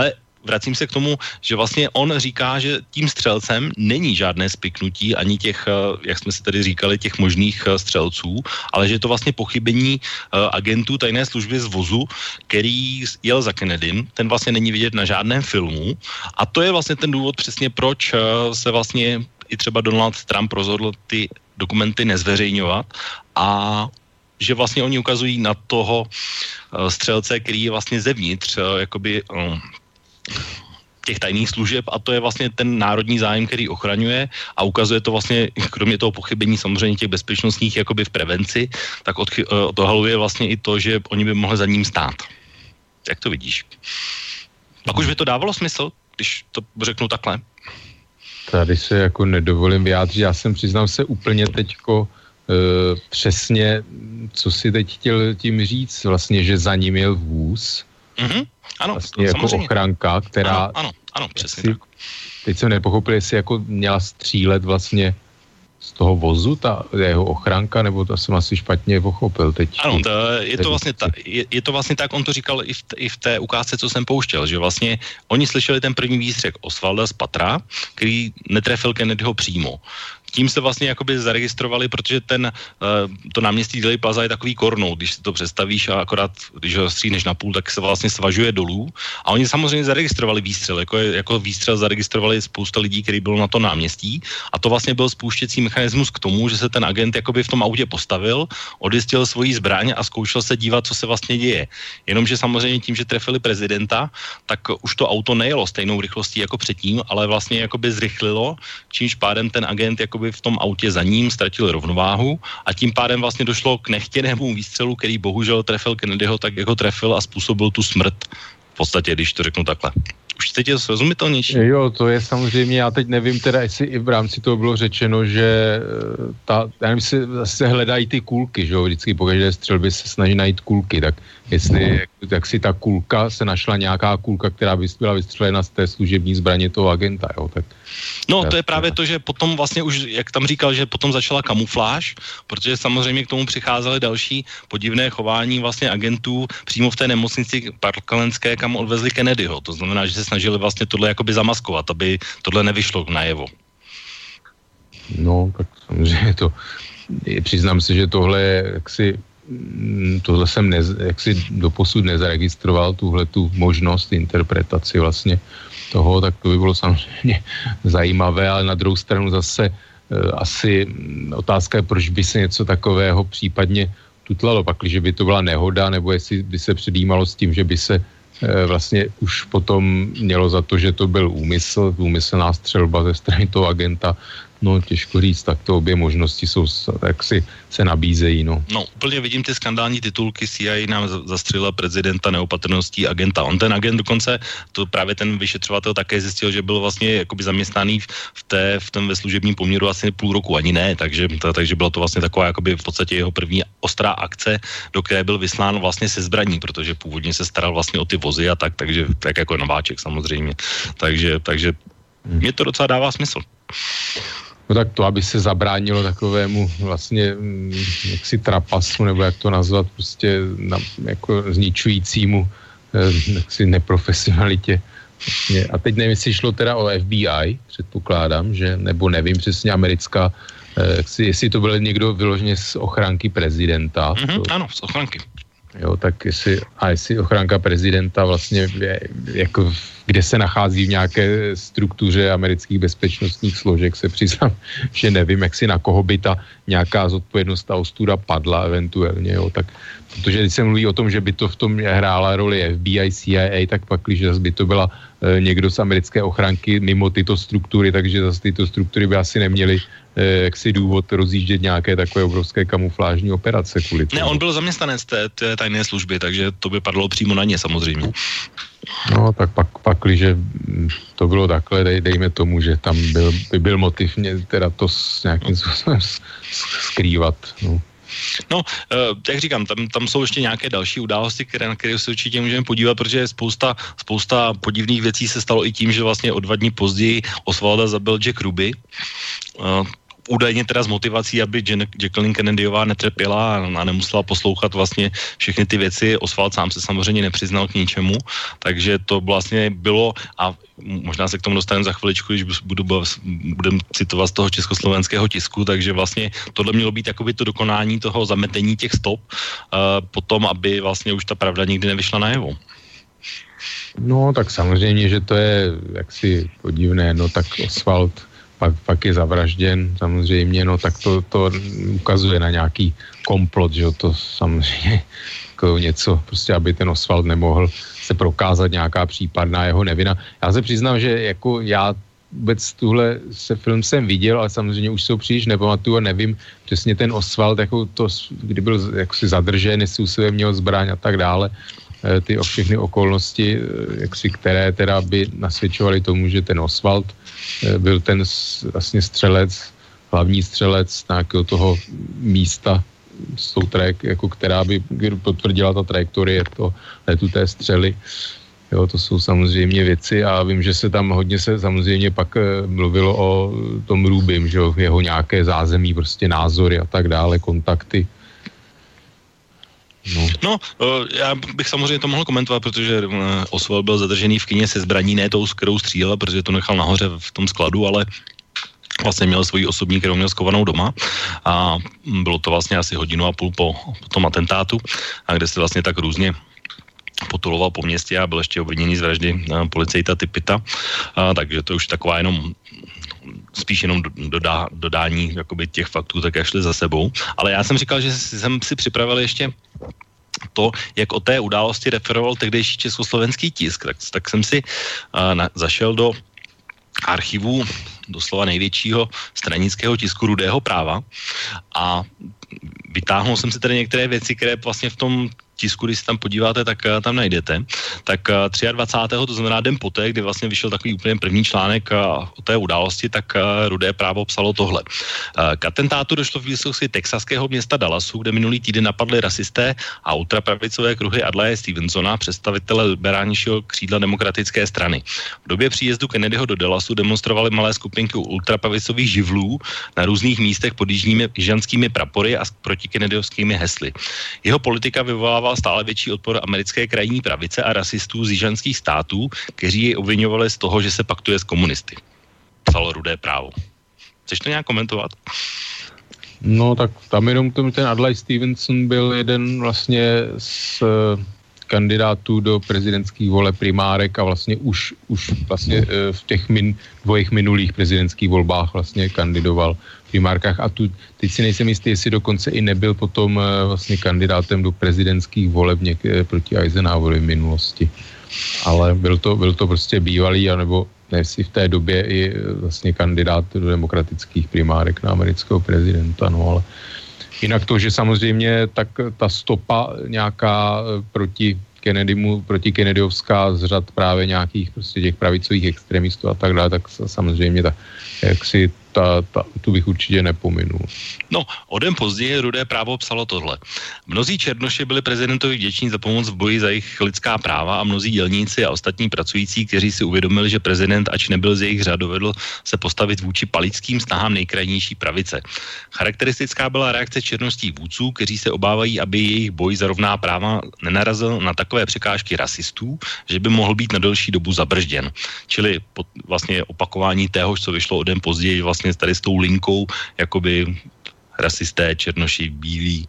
vracím se k tomu, že vlastně on říká, že tím střelcem není žádné spiknutí ani těch, jak jsme si tady říkali, těch možných střelců, ale že je to vlastně pochybení agentů tajné služby z vozu, který jel za Kennedym, ten vlastně není vidět na žádném filmu a to je vlastně ten důvod přesně, proč se vlastně i třeba Donald Trump rozhodl ty dokumenty nezveřejňovat a že vlastně oni ukazují na toho střelce, který je vlastně zevnitř jakoby těch tajných služeb a to je vlastně ten národní zájem, který ochraňuje a ukazuje to vlastně, kromě toho pochybení samozřejmě těch bezpečnostních jakoby v prevenci, tak odchy, odhaluje vlastně i to, že oni by mohli za ním stát. Jak to vidíš? Pak už by to dávalo smysl, když to řeknu takhle? Tady se jako nedovolím vyjádřit, já jsem přiznám se úplně teďko e, přesně, co si teď chtěl tím říct, vlastně, že za ním jel vůz, mm-hmm. ano, vlastně jako samozřejmě. Ochranka, která... Ano, ano, ano přesně si, tak. Teď jsem nepochopil, jestli jako měla střílet vlastně z toho vozu, ta jeho ochranka, nebo to jsem asi špatně pochopil teď. Ano, to, je, to vlastně ta, je, je to vlastně tak, on to říkal i v, i v té ukázce, co jsem pouštěl, že vlastně oni slyšeli ten první výstřel Osvalda z patra, který netrefil Kennedyho přímo. Tím se vlastně jakoby zaregistrovali, protože ten, to náměstí Dealey Plaza je takový kornou, když si to představíš a akorát, když ho stříhneš na půl, tak se vlastně svažuje dolů a oni samozřejmě zaregistrovali výstřel, jako, jako výstřel zaregistrovali spousta lidí, který bylo na to náměstí a to vlastně byl spouštěcí mechanismus k tomu, že se ten agent jakoby v tom autě postavil, odjistil svoji zbraň a zkoušel se dívat, co se vlastně děje. Jenomže samozřejmě tím, že trefili prezidenta, tak už to auto nejelo stejnou rychlostí jako předtím, ale vlastně jakoby zrychlilo, čímž pádem ten agent jakoby v tom autě za ním ztratil rovnováhu a tím pádem vlastně došlo k nechtěnému výstřelu, který bohužel trefil Kennedyho tak, jako trefil a způsobil tu smrt v podstatě, když to řeknu takhle. Už teď je srozumitelnější? Jo, to je samozřejmě, já teď nevím teda, jestli i v rámci toho bylo řečeno, že ta, já nevím, se, se hledají ty kulky, že jo, vždycky po každé střelbě se snaží najít kulky, tak jestli, jak si ta kulka, se našla nějaká kulka, která by byla vystřelena z té služební zbraně toho agenta, jo, tak... No, to je právě to, že potom vlastně už, jak tam říkal, že potom začala kamufláž, protože samozřejmě k tomu přicházely další podivné chování vlastně agentů přímo v té nemocnici parklandské, kam odvezli Kennedyho. To znamená, že se snažili vlastně tohle jakoby zamaskovat, aby tohle nevyšlo najevo. No, tak samozřejmě to, přiznám se, že tohle je jaksi, tohle jsem nez, jaksi doposud nezaregistroval, tuhle tu možnost interpretaci vlastně toho, tak to by bylo samozřejmě zajímavé, ale na druhou stranu zase e, asi otázka je, proč by se něco takového případně tutlalo, pakliže by to byla nehoda, nebo jestli by se předjímalo s tím, že by se e, vlastně už potom mělo za to, že to byl úmysl, úmyslná střelba ze strany toho agenta. No, těžko říct, tak to obě možnosti jsou, tak si se nabízejí, no. No, úplně vidím ty skandální titulky, C I A nám zastřelila prezidenta neopatrností agenta. On ten agent dokonce, to právě ten vyšetřovatel také zjistil, že byl vlastně jakoby zaměstnaný v té, v tom ve služebním poměru asi půl roku, ani ne, takže, ta, takže byla to vlastně taková jakoby v podstatě jeho první ostrá akce, do které byl vyslán vlastně se zbraní, protože původně se staral vlastně o ty vozy a tak, takže tak jako nováček samozřejmě. Takže, takže hmm. mě to docela dává smysl. No tak to, aby se zabránilo takovému vlastně jaksi trapasu, nebo jak to nazvat, prostě na, jako zničujícímu jaksi neprofesionalitě. Vlastně. A teď nevím, jestli šlo teda o F B I, předpokládám, že, nebo nevím přesně, americká, jaksi, jestli to byl někdo vyloženě z ochranky prezidenta. Mm-hmm, to, ano, z ochranky. Jo, tak jestli, a jestli ochranka prezidenta vlastně je, jako kde se nachází v nějaké struktuře amerických bezpečnostních složek, se přiznám, že nevím, jak si na koho by ta nějaká zodpovědnost, ta ostuda padla eventuálně, jo, tak, protože když se mluví o tom, že by to v tom hrála roli F B I, C I A, tak pak, když zase by to byla e, někdo z americké ochranky mimo tyto struktury, takže zase tyto struktury by asi neměly e, jaksi důvod rozjíždět nějaké takové obrovské kamuflážní operace kvůli tomu. Ne, on byl zaměstnanec té, té tajné služby, takže to by padlo přímo na ně samozřejmě. No, tak pak, pak když to bylo takhle, dej, dejme tomu, že tam byl, by byl motiv mě teda to s nějakým způsobem skrývat. No, no jak říkám, tam, tam jsou ještě nějaké další události, které, na které se určitě můžeme podívat, protože spousta, spousta podivných věcí se stalo i tím, že vlastně o dva dní později Osvalda zabil Jack Ruby. údajně teda s motivací, aby Jacqueline Kennedyová netrpěla a nemusela poslouchat vlastně všechny ty věci. Oswald sám se samozřejmě nepřiznal k ničemu, takže to vlastně bylo, a možná se k tomu dostaneme za chviličku, když budu, budem citovat z toho československého tisku, takže vlastně tohle mělo být jakoby to dokonání toho zametení těch stop, uh, potom, aby vlastně už ta pravda nikdy nevyšla najevo. No, tak samozřejmě, že to je jaksi podivné, no tak Oswald pak, pak je zavražděn, samozřejmě, no tak to, to ukazuje na nějaký komplot, že jo, to samozřejmě jako něco, prostě aby ten Oswald nemohl se prokázat nějaká případná jeho nevina. Já se přiznám, že jako já vůbec tuhle se film jsem viděl, ale samozřejmě už se ho příliš nepamatuju a nevím přesně ten Oswald, jako to, kdy byl jaksi zadržen, jestli u sebe měl zbraň a tak dále, ty o všechny okolnosti, jaksi, které teda by nasvědčovaly tomu, že ten Oswald byl ten vlastně střelec, hlavní střelec nějakého toho místa s tou trajek, jako která by potvrdila ta trajektorie to letu té střely. Jo, to jsou samozřejmě věci a vím, že se tam hodně se samozřejmě pak mluvilo o tom Rubim, že jo, jeho nějaké zázemí, prostě názory a tak dále, kontakty. No. no, já bych samozřejmě to mohl komentovat, protože Oswald byl zadržený v kině se zbraní, ne tou, s kterou střílel, protože to nechal nahoře v tom skladu, ale vlastně měl svoji osobní, kterou měl skovanou doma a bylo to vlastně asi hodinu a půl po, po tom atentátu, a kde se vlastně tak různě potuloval po městě a byl ještě obviněný z vraždy policejta Tipita, a, takže to už taková jenom spíš jenom dodá, dodání jakoby těch faktů, tak jak šli za sebou. Ale já jsem říkal, že jsem si připravil ještě to, jak o té události referoval tehdejší československý tisk, tak, tak jsem si uh, na, zašel do archivu doslova největšího stranického tisku Rudého práva a vytáhnul jsem si tady některé věci, které vlastně v tom tisku, když se tam podíváte, tak uh, tam najdete. Tak uh, dvacátého třetího, to znamená den poté, kdy vlastně vyšel takový úplně první článek uh, o té události, tak uh, Rudé právo psalo tohle. Uh, k atentátu došlo v blízkosti texaského města Dallasu, kde minulý týden napadli rasisté a ultrapravicové kruhy Adlaje Stevensona, představitele liberálnějšího křídla demokratické strany. V době příjezdu Kennedyho do Dallasu demonstrovali malé skupinky ultrapravicových živlů na různých místech pod jižními jižanskými prapory a proti kennedyovskými hesly. Jeho politika vyvolává stále větší odpor americké krajní pravice a rasistů z jižanských států, kteří jej obviňovali z toho, že se paktuje s komunisty. Psalo Rudé právo. Chceš to nějak komentovat? No tak tam jenom ten Adlai Stevenson byl jeden vlastně z kandidátů do prezidentských voleb primárek a vlastně už, už vlastně v těch min, dvojích minulých prezidentských volbách vlastně kandidoval v primárkách a tu, teď si nejsem jistý, jestli dokonce i nebyl potom vlastně kandidátem do prezidentských voleb někde proti Eisenhowerovi v minulosti. Ale byl to, byl to prostě bývalý, anebo ne, jestli v té době i vlastně kandidát do demokratických primárek na amerického prezidenta, no ale jinak to, že samozřejmě tak ta stopa nějaká proti Kennedymu, proti Kennedyovská z řad právě nějakých prostě těch pravicových extremistů a tak dále, tak samozřejmě ta, jak si ta, ta, tu bych určitě nepominul. No, o den později Rudé právo psalo tohle. Mnozí černoši byli prezidentovi vděční za pomoc v boji za jejich lidská práva a mnozí dělníci a ostatní pracující, kteří si uvědomili, že prezident, ač nebyl z jejich řad, dovedl se postavit vůči palickým snahám nejkrajnější pravice. Charakteristická byla reakce černošských vůdců, kteří se obávají, aby jejich boj za rovná práva nenarazil na takové překážky rasistů, že by mohl být na delší dobu zabržděn. Čili pod, vlastně opakování téhož, co vyšlo o den později, vlastně tady s tou linkou, jakoby rasisté, černoši, bílí.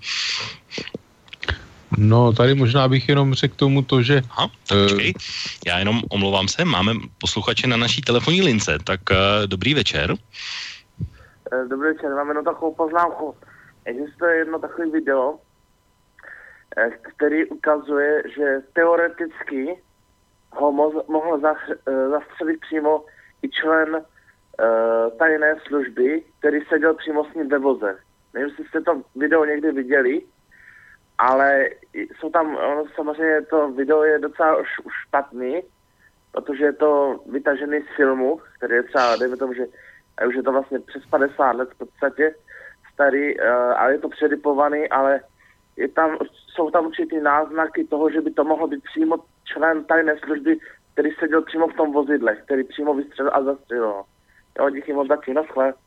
No, tady možná bych jenom řekl tomu to, že... Aha, tak počkej, já jenom omlouvám se, máme posluchače na naší telefonní lince, tak uh, dobrý večer. Dobrý večer, mám jenom takovou poznámku. Existuje jedno takové video, který ukazuje, že teoreticky ho mohl zastřelit přímo i člen Uh, tajné služby, který seděl přímo s ním ve voze. Nevím, jestli jste to video někdy viděli, ale jsou tam, ono, samozřejmě to video je docela už, už špatný, protože je to vytažený z filmu, který je třeba, dejme tomu, že už je to vlastně přes padesát let v podstatě starý, uh, ale je to předipovaný, ale je tam, jsou tam určitý náznaky toho, že by to mohlo být přímo člen tajné služby, který seděl přímo v tom vozidle, který přímo vystřelil a zastřelil. Jo, díky moc taky, naschle.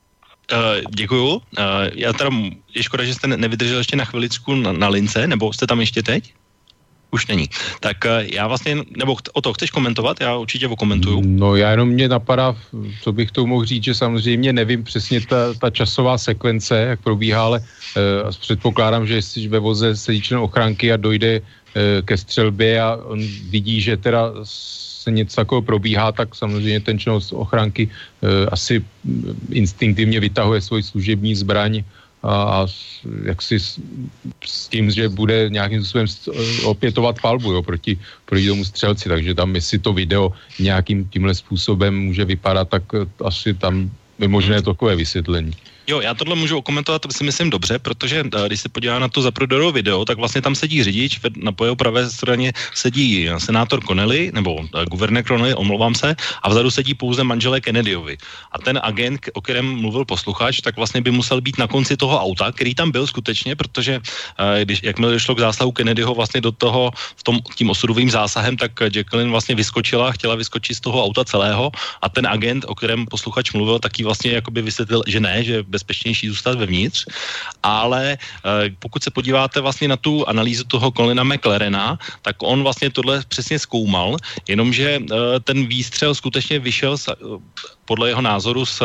Uh, děkuju. Uh, já teda, je škoda, že jste nevydržel ještě na chviličku na, na lince, nebo jste tam ještě teď? Už není. Tak uh, já vlastně, nebo o to chceš komentovat? Já určitě okomentuju. No já jenom mě napadá, co bych to mohl říct, že samozřejmě nevím přesně ta, ta časová sekvence, jak probíhá, ale uh, předpokládám, že jestli ve voze sedí člen ochránky a dojde uh, ke střelbě a on vidí, že teda se něco takového probíhá, tak samozřejmě ten člen ochránky uh, asi instinktivně vytahuje svoji služební zbraň a, a jak si s, s tím, že bude nějakým způsobem opětovat palbu, jo, proti, proti tomu střelci, takže tam, jestli to video nějakým tímhle způsobem může vypadat, tak asi tam je možné takové vysvětlení. Jo, já tohle můžu okomentovat, to si myslím dobře, protože když se podívá na to Zapruderovo video, tak vlastně tam sedí řidič, na po jeho pravé straně sedí senátor Connelly, nebo guvernér Connelly, omlouvám se, a vzadu sedí pouze manželé Kennedyovi. A ten agent, o kterém mluvil posluchač, tak vlastně by musel být na konci toho auta, který tam byl skutečně, protože když, jakmile došlo k zásahu Kennedyho vlastně do toho, v tom, tím osudovým zásahem, tak Jacqueline vlastně vyskočila, chtěla vyskočit z toho auta celého a ten agent, o kterém posluchač mluvil, taky vlastně jakoby vysvětlil, že ne, že bezpečnější zůstat vevnitř, ale e, pokud se podíváte vlastně na tu analýzu toho Colina McLarena, tak on vlastně tohle přesně zkoumal, jenomže e, ten výstřel skutečně vyšel z, e, podle jeho názoru z,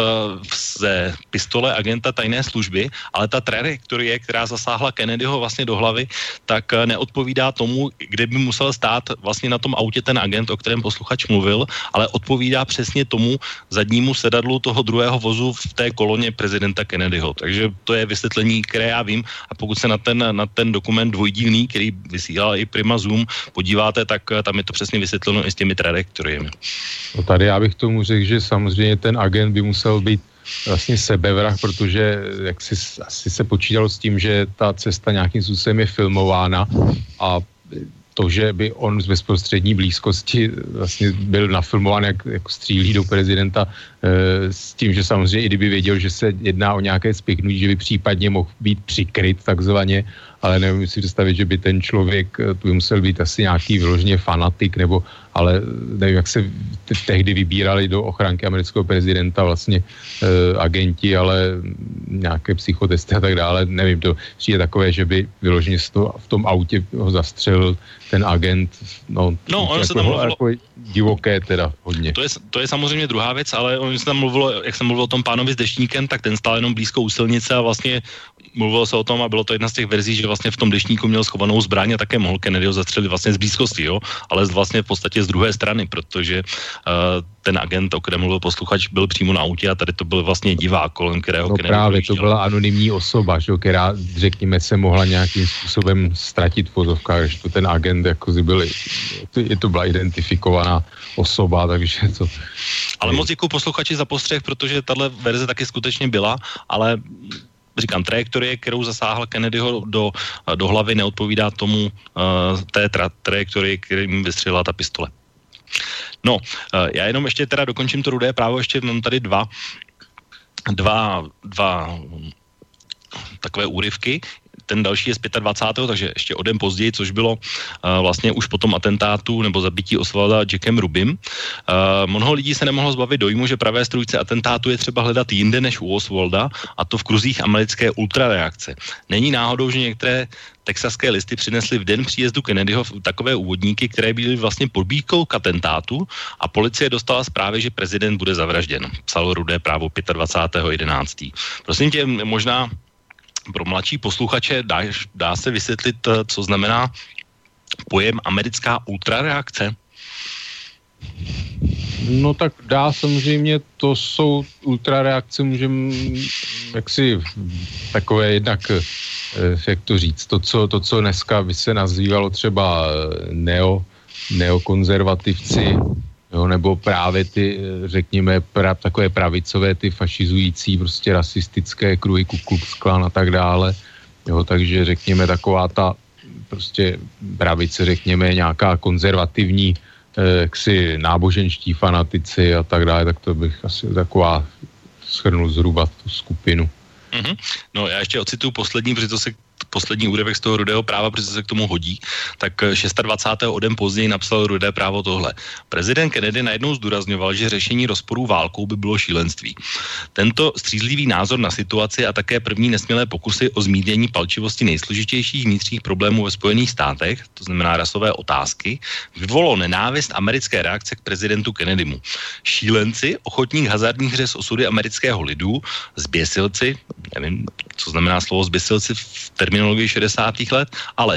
ze pistole agenta tajné služby, ale ta trajektorie, která zasáhla Kennedyho vlastně do hlavy, tak neodpovídá tomu, kde by musel stát vlastně na tom autě ten agent, o kterém posluchač mluvil, ale odpovídá přesně tomu zadnímu sedadlu toho druhého vozu v té koloně prezidenta Kennedyho. Takže to je vysvětlení, které já vím, a pokud se na ten, na ten dokument dvojdílný, který vysílal i Prima Zoom, podíváte, tak tam je to přesně vysvětleno i s těmi trajektoriemi. No tady já bych tomu řekl, že samozřejmě ten agent by musel být vlastně sebevrah, protože jak si, asi se počítalo s tím, že ta cesta nějakým způsobem je filmována a to, že by on z bezprostřední blízkosti vlastně byl nafilmován, jak, jak střílí do prezidenta, e, s tím, že samozřejmě i kdyby věděl, že se jedná o nějaké spiknutí, že by případně mohl být přikryt takzvaně, ale nevím si představit, že by ten člověk tu musel být asi nějaký vyloženě fanatik, nebo, ale nevím, jak se t- tehdy vybírali do ochránky amerického prezidenta vlastně e, agenti, ale nějaké psychotesty a tak dále, nevím, to přijde takové, že by vyloženě v tom autě ho zastřelil ten agent, no, no ono jako, se tam mluvilo, jako divoké teda hodně. To je, to je samozřejmě druhá věc, ale ono se tam mluvilo, jak jsem mluvil o tom pánovi s deštníkem, tak ten stál jenom blízko u silnice a vlastně mluvilo se o tom a bylo to jedna z těch verzí, že vlastně v tom deštníku měl schovanou zbraň a také mohl Kennedyho zastřelit vlastně z blízkosti, jo, ale vlastně v podstatě z druhé strany, protože uh, ten agent, o kterém mluvil posluchač, byl přímo na autě a tady to byl vlastně divák, kolem kterého no Kennedy právě, dojížděl. To byla anonymní osoba, že, která, řekněme, se mohla nějakým způsobem ztratit v vozovkách, že to ten agent jako byl, je to byla identifikovaná osoba, takže to... Ale moc děkuji posluchači za postřeh, protože tahle verze taky skutečně byla, ale říkám, trajektorie, kterou zasáhla Kennedyho do, do hlavy, neodpovídá tomu uh, té tra- trajektorii, kterým vystřelila ta pistole. No, uh, já jenom ještě teda dokončím to Rudé právo, ještě mám tady dva, dva, dva takové úryvky. Ten další je z dvacátého pátého takže ještě o den později, což bylo uh, vlastně už po tom atentátu nebo zabití Oswalda Jackem Rubim. Uh, mnoho lidí se nemohlo zbavit dojmu, že pravé strůjce atentátu je třeba hledat jinde než u Oswalda, a to v kruzích americké ultrareakce. Není náhodou, že některé texaské listy přinesly v den příjezdu Kennedyho takové úvodníky, které byly vlastně podbídkou k atentátu a policie dostala zprávy, že prezident bude zavražděn. Psalo Rudé právo dvacátého pátého jedenáctého Prosím tě, možná pro mladší posluchače dá, dá se vysvětlit, co znamená pojem americká ultrareakce? No tak dá, samozřejmě, to jsou ultrareakce, můžeme jaksi takové jednak, jak to říct, to, co, to, co dneska by se nazývalo třeba neo, neokonzervativci, jo, nebo právě ty, řekněme, pra, takové pravicové, ty fašizující, prostě rasistické kruhy, Ku Klux Klan a tak dále. Jo, takže řekněme taková ta prostě pravice, řekněme, nějaká konzervativní, eh, jaksi náboženští fanatici a tak dále, tak to bych asi taková shrnul zhruba tu skupinu. Mm-hmm. No já ještě ocituju poslední, protože to se poslední úryvek z toho Rudého práva, protože se k tomu hodí, tak dvacátého šestého o den později napsal Rudé právo tohle. Prezident Kennedy najednou zdůrazňoval, že řešení rozporů válkou by bylo šílenství. Tento střízlivý názor na situaci a také první nesmělé pokusy o zmírnění palčivosti nejsložitějších vnitřních problémů ve Spojených státech, to znamená rasové otázky, vyvolalo nenávist americké reakce k prezidentu Kennedymu. Šílenci, ochotní k hazardních hře s osudy amerického lidu, zběsilci, nevím, co znamená slovo zběsilci v terminologii šedesátých let, ale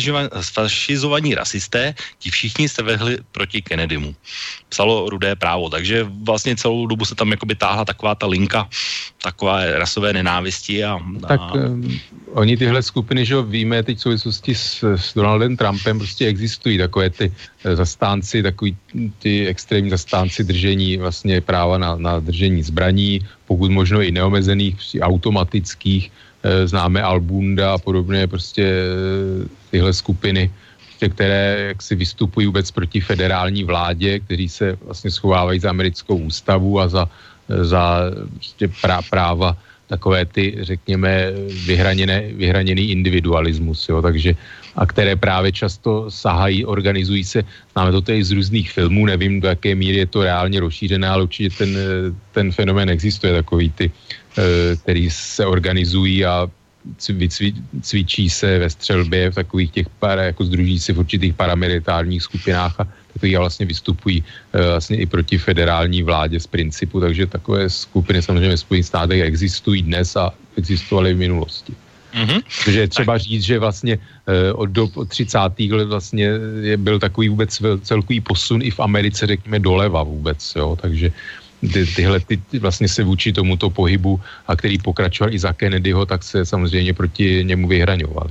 sfašizovaní rasisté, ti všichni se vehli proti Kennedymu. Psalo Rudé právo, takže vlastně celou dobu se tam jakoby táhla taková ta linka, taková rasové nenávisti a... a... Tak um, oni tyhle skupiny, že víme teď v souvislosti s, s Donaldem Trumpem, prostě existují takové ty zastánci, takový ty extrémní zastánci držení vlastně práva na, na držení zbraní, pokud možno i neomezených, prostě automatických, e, známe Albunda a podobně, prostě e, tyhle skupiny, prostě, které jaksi vystupují vůbec proti federální vládě, kteří se vlastně schovávají za americkou ústavu a za, za prostě prá, práva takové ty, řekněme, vyhraněné, vyhraněný individualismus, jo, takže a které právě často sahají, organizují se, známe to tady z různých filmů, nevím, do jaké míry je to reálně rozšířené, ale určitě ten, ten fenomén existuje, takový ty, který se organizují a cvi, cvičí se ve střelbě v takových těch, para, jako združí se v určitých paramilitárních skupinách a takový vlastně vystupují vlastně i proti federální vládě z principu, takže takové skupiny samozřejmě ve Spojených státech existují dnes a existovaly v minulosti. Mm-hmm. Takže je třeba říct, že vlastně od do třicátých let vlastně je, byl takový vůbec celkový posun i v Americe, řekněme, doleva vůbec, jo, takže ty, tyhle ty vlastně se vůči tomuto pohybu, a který pokračoval i za Kennedyho, tak se samozřejmě proti němu vyhraňovali.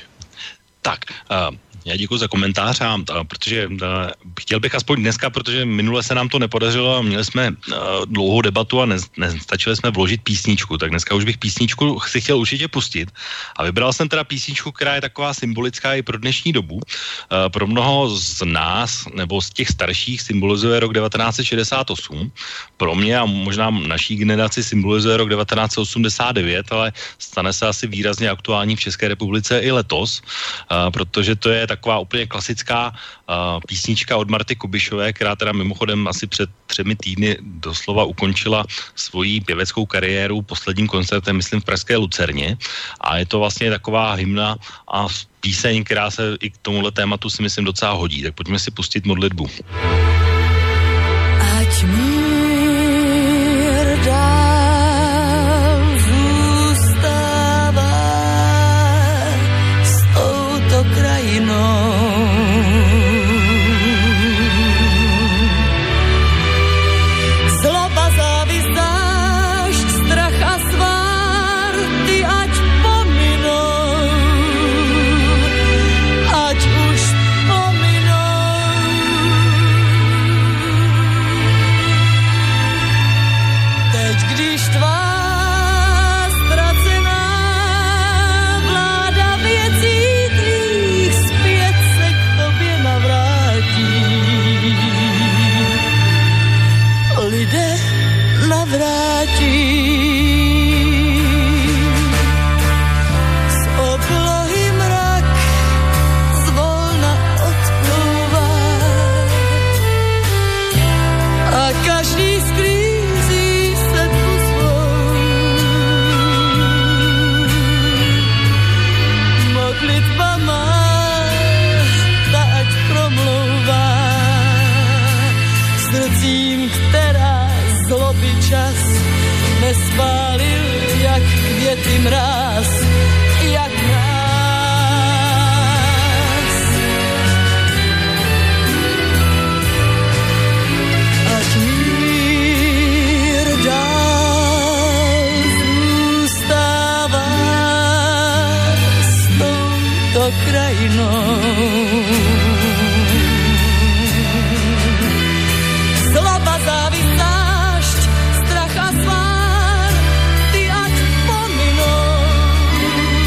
Tak, uh... já děkuji za komentář, a, a, protože a, chtěl bych aspoň dneska, protože minule se nám to nepodařilo a měli jsme a, dlouhou debatu a ne, nestačili jsme vložit písničku, tak dneska už bych písničku si chtěl určitě pustit a vybral jsem teda písničku, která je taková symbolická i pro dnešní dobu. A, pro mnoho z nás, nebo z těch starších, symbolizuje rok devatenáct set šedesát osm, pro mě a možná naší generaci symbolizuje rok devatenáct set osmdesát devět, ale stane se asi výrazně aktuální v České republice i letos, a, protože to je taková úplně klasická uh, písnička od Marty Kubišové, která teda mimochodem asi před třemi týdny doslova ukončila svoji pěveckou kariéru posledním koncertem, myslím, v pražské Lucerně. A je to vlastně taková hymna a píseň, která se i k tomuhle tématu si myslím docela hodí. Tak pojďme si pustit modlitbu. Ať mír dál zůstává s touto krajinou. Nespálil jak květy mráz, jak mráz. Ať mír dál zůstává s touto krajinou. Zloba, závist, strach a svár, ty ať pominou.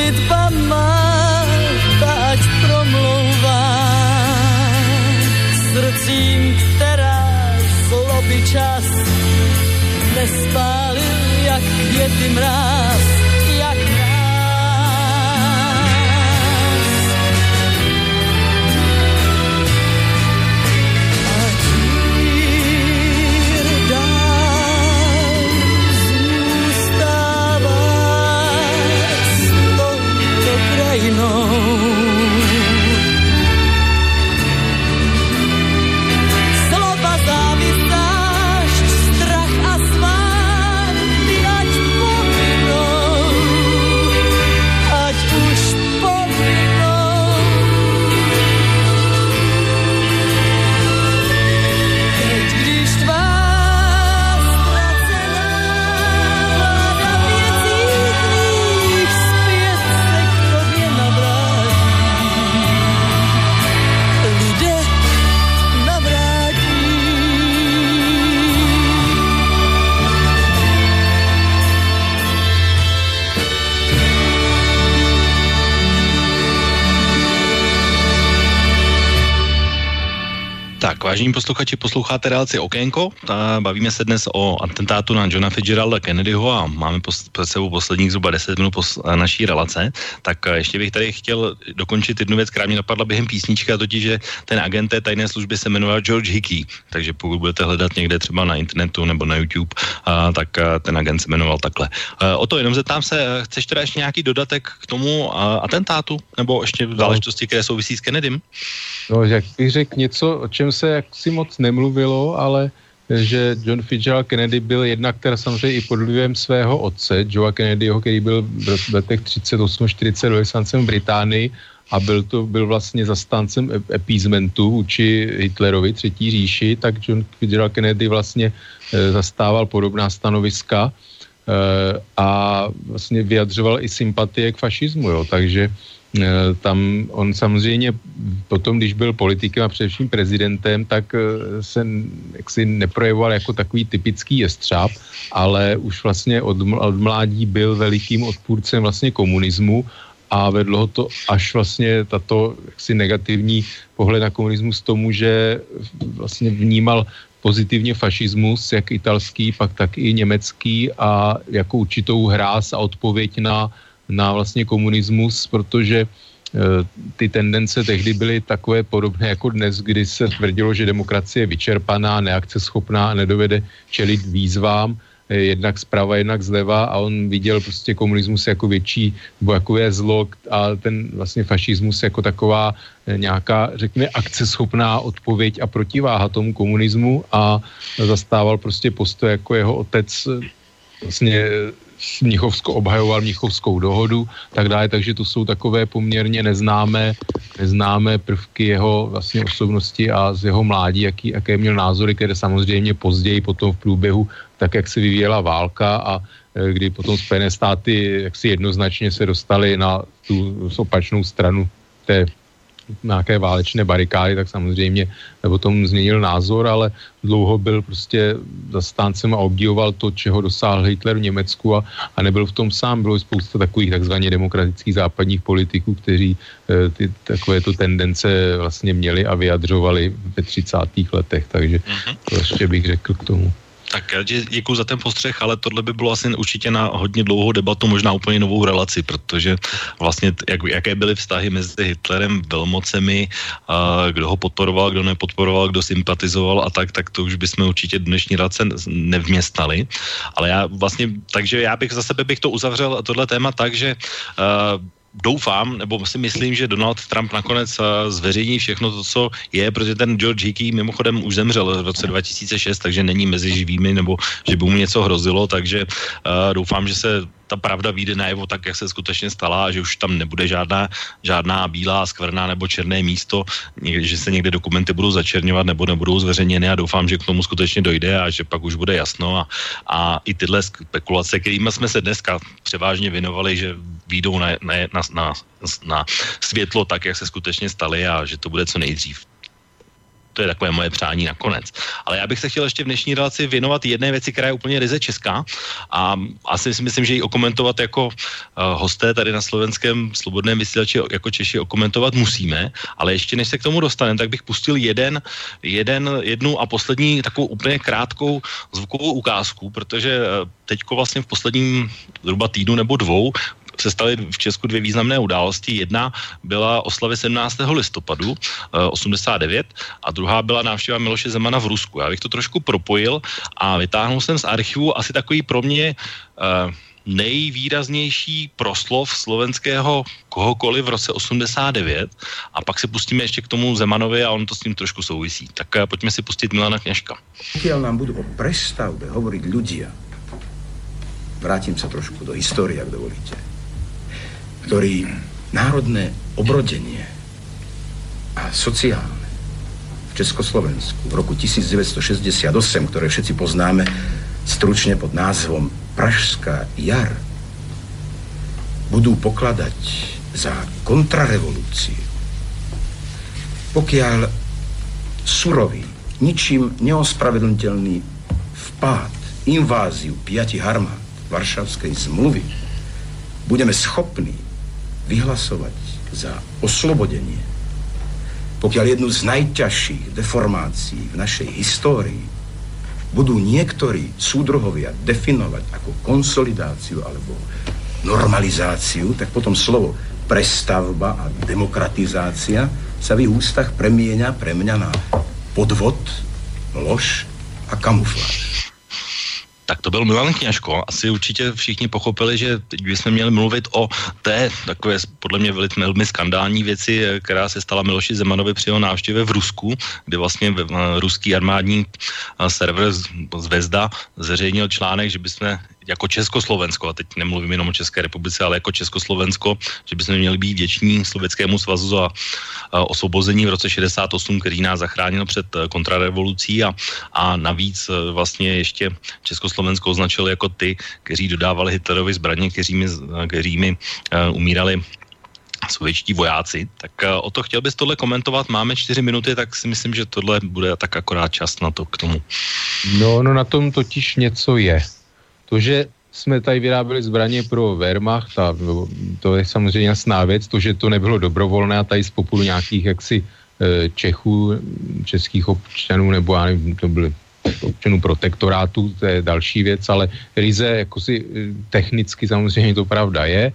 modlitba má, ať promlouvá srdcím, která zloby čas nespálil, jak květy mráz, jak slova, závist, zášť, strach a svár, ať povinou, ať už povinou. Teď, když tvá ztracená vláda věcí tvých zpět se k tobě navrátí, lidé navrátí. Tak, vážení posluchači, posloucháte relaci Okénko. Ta, bavíme se dnes o atentátu na Johna Fitzgeralda Kennedyho a máme pos, před sebou posledních zhruba deset minut pos, naší relace. Tak ještě bych tady chtěl dokončit jednu věc, která mě napadla během písnička, totiž, že ten agent té tajné služby se jmenoval George Hickey. Takže pokud budete hledat někde třeba na internetu nebo na YouTube, a, tak a, ten agent se jmenoval takhle. A, o to jenom zeptám se, chceš teda ještě nějaký dodatek k tomu a, atentátu? Nebo ještě záležitosti, které souvisí s Kennedym? No, jak bych řekl něco, o čem se jaksi moc nemluvilo, ale že John Fitzgerald Kennedy byl jednak teda samozřejmě i pod vlivem svého otce, Joea Kennedyho, který byl v letech třicet osm čtyřicet velvyslancem v Británii a byl to byl vlastně zastáncem appeasementu vůči Hitlerovi, Třetí říši, tak John Fitzgerald Kennedy vlastně e, zastával podobná stanoviska e, a vlastně vyjadřoval i sympatie k fašismu, jo, takže tam on samozřejmě potom, když byl politikem a především prezidentem, tak se jaksi neprojevoval jako takový typický jestřáb, ale už vlastně od, od mládí byl velikým odpůrcem vlastně komunismu a vedlo ho to až vlastně tato jaksi negativní pohled na komunismus tomu, že vlastně vnímal pozitivně fašismus, jak italský, pak tak i německý a jako určitou hráz a odpověď na na vlastně komunismus, protože e, ty tendence tehdy byly takové podobné jako dnes, kdy se tvrdilo, že demokracie je vyčerpaná, neakceschopná a nedovede čelit výzvám, e, jednak zprava, jednak zleva a on viděl prostě komunismus jako větší, nebo jakové zlo a ten vlastně fašismus jako taková e, nějaká, řekněme, akceschopná odpověď a protiváha tomu komunismu a zastával prostě postoj jako jeho otec vlastně Mnichovsko, obhajoval Mnichovskou dohodu, tak dále, takže to jsou takové poměrně neznámé, neznámé prvky jeho vlastně osobnosti a z jeho mládí, jaký, jaké měl názory, které samozřejmě později potom v průběhu, tak jak se vyvíjela válka a kdy potom Spojené státy jaksi jednoznačně se dostali na tu opačnou stranu té nějaké válečné barikády, tak samozřejmě potom změnil názor, ale dlouho byl prostě zastáncem a obdivoval to, čeho dosáhl Hitler v Německu a, a nebyl v tom sám. Bylo spousta takových takzvaně demokratických západních politiků, kteří e, ty takovéto tendence vlastně měli a vyjadřovali ve třicátých letech, takže to ještě bych řekl k tomu. Tak děkuji za ten postřeh, ale tohle by bylo asi určitě na hodně dlouhou debatu, možná úplně novou relaci, protože vlastně jak, jaké byly vztahy mezi Hitlerem, velmocemi, a kdo ho podporoval, kdo nepodporoval, kdo sympatizoval a tak, tak to už bychom určitě dnešní relace nevměstnali. Ale já vlastně, takže já bych za sebe bych to uzavřel tohle téma tak, že uh, doufám, nebo si myslím, že Donald Trump nakonec uh, zveřejní všechno to, co je, protože ten George Hickey mimochodem už zemřel v roce dva tisíce šest, takže není mezi živými, nebo že by mu něco hrozilo, takže uh, doufám, že se ta pravda vyjde najevo tak, jak se skutečně stala a že už tam nebude žádná, žádná bílá, skvrná nebo černé místo, že se někde dokumenty budou začerňovat nebo nebudou zveřejněny a doufám, že k tomu skutečně dojde a že pak už bude jasno a, a i tyhle spekulace, kterými jsme se dneska převážně věnovali, že vyjdou na, na, na, na, na světlo tak, jak se skutečně staly a že to bude co nejdřív. To je takové moje přání nakonec. Ale já bych se chtěl ještě v dnešní relaci věnovat jedné věci, která je úplně ryze česká a asi si myslím, že ji okomentovat jako uh, hosté tady na slovenském slobodném vysílači jako Češi okomentovat musíme, ale ještě než se k tomu dostaneme, tak bych pustil jeden, jeden, jednu a poslední takovou úplně krátkou zvukovou ukázku, protože teďko vlastně v posledním zhruba týdnu nebo dvou se staly v Česku dvě významné události. Jedna byla oslavy sedmnáctého listopadu osmdesát devět a druhá byla návštěva Miloše Zemana v Rusku. Já bych to trošku propojil a vytáhnul jsem z archivu asi takový pro mě uh, nejvýraznější proslov slovenského kohokoliv v roce osmdesát devět a pak se pustíme ještě k tomu Zemanovi a on to s tím trošku souvisí. Tak uh, pojďme si pustit Milana Kňažka. Pokiaľ nám budú o prestavbe hovoriť ľudia, vrátim sa trošku do histórie, ak dovolíte, ktorí národné obrodenie a sociálne v Československu v roku devätnásťstošesťdesiatosem, ktoré všetci poznáme stručne pod názvom Pražská jar, budú pokladať za kontrarevolúciu. Pokiaľ surový, ničím neospravedlniteľný vpád, inváziu piatich armád Varšavskej zmluvy budeme schopní vyhlasovať za oslobodenie, pokiaľ jednu z najťažších deformácií v našej histórii budú niektorí súdruhovia definovať ako konsolidáciu alebo normalizáciu, tak potom slovo prestavba a demokratizácia sa v ich ústach premieňa pre mňa na podvod, lož a kamufláž. Tak to byl Milan Kňažko. Asi určitě všichni pochopili, že teď bychom měli mluvit o té takové podle mě velmi skandální věci, která se stala Miloši Zemanovi při jeho návštěvě v Rusku, kde vlastně ruský armádní server Zvezda zveřejnil článek, že bychom jako Československo, a teď nemluvím jenom o České republice, ale jako Československo, že bychom měli být vděční Sovětskému svazu za osvobození v roce šedesát osm, který nás zachránil před kontrarevolucí a, a navíc vlastně ještě Československo označili jako ty, kteří dodávali Hitlerovi zbraně, kterými, kterými uh, umírali sovětští vojáci. Tak uh, o to chtěl bys tohle komentovat. Máme čtyři minuty, tak si myslím, že tohle bude tak akorát čas na to k tomu. No, no na tom totiž něco je. To, že jsme tady vyráběli zbraně pro Wehrmacht, a to je samozřejmě jasná věc, to, že to nebylo dobrovolné a tady z populu nějakých jaksi Čechů, českých občanů, nebo já nevím, to byly občanů protektorátu, to je další věc, ale ryze jako si technicky samozřejmě to pravda je,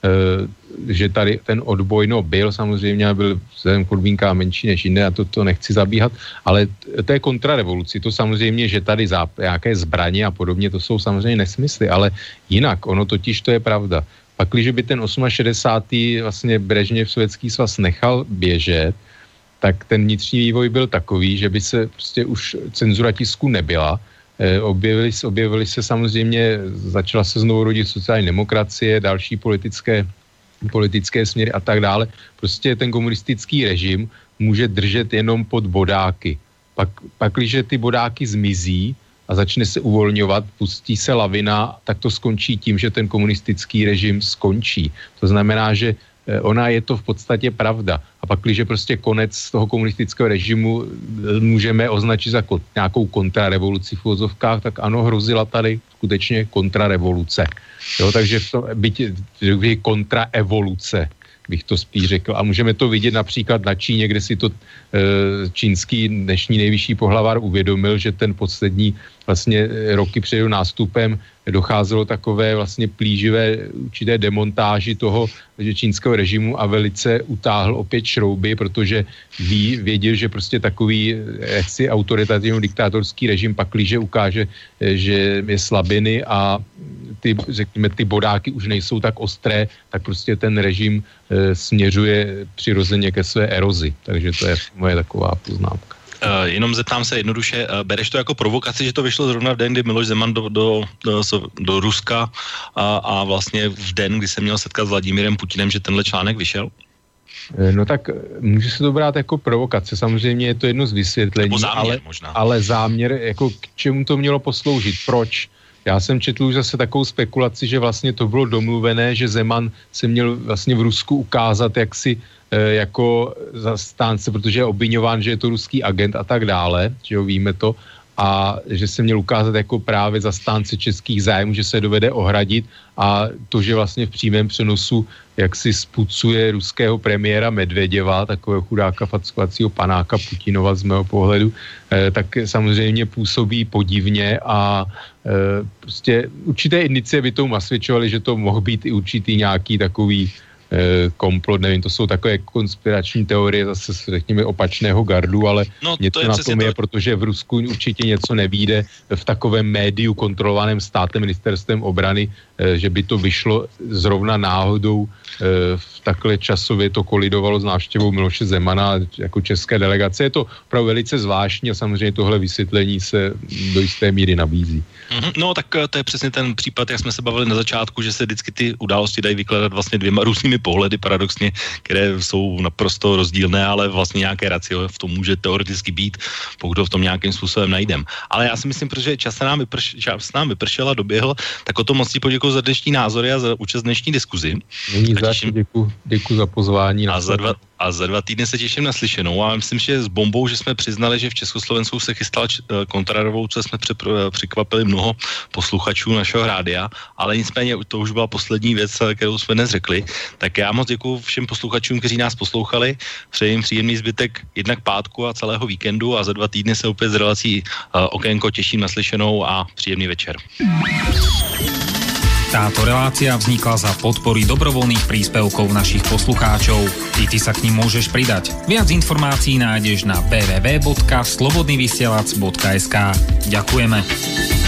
že tady ten odboj, no byl samozřejmě, byl vzhledem k podmínkám menší než jiné a to, to nechci zabíhat, ale to je kontrarevoluci, to samozřejmě, že tady záp, nějaké zbraně a podobně, to jsou samozřejmě nesmysly, ale jinak, ono totiž to je pravda. Pak, když by ten šedesátý osmý vlastně Brežněv Sovětský svaz nechal běžet, tak ten vnitřní vývoj byl takový, že by se prostě už cenzura tisku nebyla. E, objevily, objevily se samozřejmě, začala se znovu rodit sociální demokracie, další politické, politické směry a tak dále. Prostě ten komunistický režim může držet jenom pod bodáky. Pak, pak když ty bodáky zmizí a začne se uvolňovat, pustí se lavina, tak to skončí tím, že ten komunistický režim skončí. To znamená, že ona je to v podstatě pravda. A pak, když je prostě konec toho komunistického režimu můžeme označit za ko- nějakou kontrarevoluci v uvozovkách, tak ano, hrozila tady skutečně kontrarevoluce. Jo, takže v tom, byť kontraevoluce, bych to spíš řekl. A můžeme to vidět například na Číně, kde si to e, čínský dnešní nejvyšší pohlavár uvědomil, že ten poslední vlastně roky před jeho nástupem docházelo takové vlastně plíživé určité demontáži toho že čínského režimu a velice utáhl opět šrouby, protože ví, věděl, že prostě takový jaksi autoritativní diktátorský režim paklíže ukáže, že je slabiny a ty, řekněme, ty bodáky už nejsou tak ostré, tak prostě ten režim e, směřuje přirozeně ke své erozi. Takže to je moje taková poznámka. Uh, jenom zeptám se jednoduše, uh, bereš to jako provokaci, že to vyšlo zrovna v den, kdy Miloš Zeman do, do, do, do Ruska a, a vlastně v den, kdy se měl setkat s Vladimírem Putinem, že tenhle článek vyšel? No tak může se to brát jako provokace, samozřejmě je to jedno z vysvětlení, záměr, ale, možná. ale záměr, jako k čemu to mělo posloužit, proč? Já jsem četl už zase takovou spekulaci, že vlastně to bylo domluvené, že Zeman se měl vlastně v Rusku ukázat jaksi e, jako zastánce, protože je obviňován, že je to ruský agent a tak dále, že jo, víme to, a že se měl ukázat jako právě zastánce českých zájmů, že se dovede ohradit a to, že vlastně v přímém přenosu jak si spucuje ruského premiéra Medveděva, takového chudáka fackovacího panáka Putinova z mého pohledu, eh, tak samozřejmě působí podivně a eh, prostě určité indicie by tomu nasvědčovaly, že to mohl být i určitý nějaký takový komplot, nevím, to jsou takové konspirační teorie zase řekněme opačného gardu, ale no, něco to na tom to... je, protože v Rusku určitě něco nevíde v takovém médiu kontrolovaném státem, ministerstvem obrany, že by to vyšlo zrovna náhodou v takhle časově to kolidovalo s návštěvou Miloše Zemana jako české delegace. Je to opravdu velice zvláštní a samozřejmě tohle vysvětlení se do jisté míry nabízí. No tak to je přesně ten případ, jak jsme se bavili na začátku, že se vždycky ty události dají vykládat vlastně dvěma různými pohledy paradoxně, které jsou naprosto rozdílné, ale vlastně nějaké racio v tom může teoreticky být, pokud ho v tom nějakým způsobem najdem. Ale já si myslím, protože čas se nám, vyprš, čas nám vypršel a doběhl, tak o to moc poděkuji za dnešní názory a za účast dnešní diskuzi. Není za těším... děkuji, děkuji za pozvání. A za, dva, a za dva týdny se těším na slyšenou a myslím, že s bombou, že jsme přiznali, že v Československu se chystala kontrarevoluce, jsme překvapili mnoho posluchačů našeho rádia, ale nicméně to už byla poslední věc, kterou jsme dnes řekli. Tak já moc děkuji všem posluchačům, kteří nás poslouchali. Přeji jim příjemný zbytek jednak pátku a celého víkendu a za dva týdny se opět z relací uh, Okénko těším na slyšenou a příjemný večer. Táto relácia vznikla za podpory dobrovoľných príspevkov našich poslucháčov. I ty sa k nim môžeš pridať. Viac informácií nájdeš na w w w bodka slobodnyvysielac bodka es ka. Ďakujeme.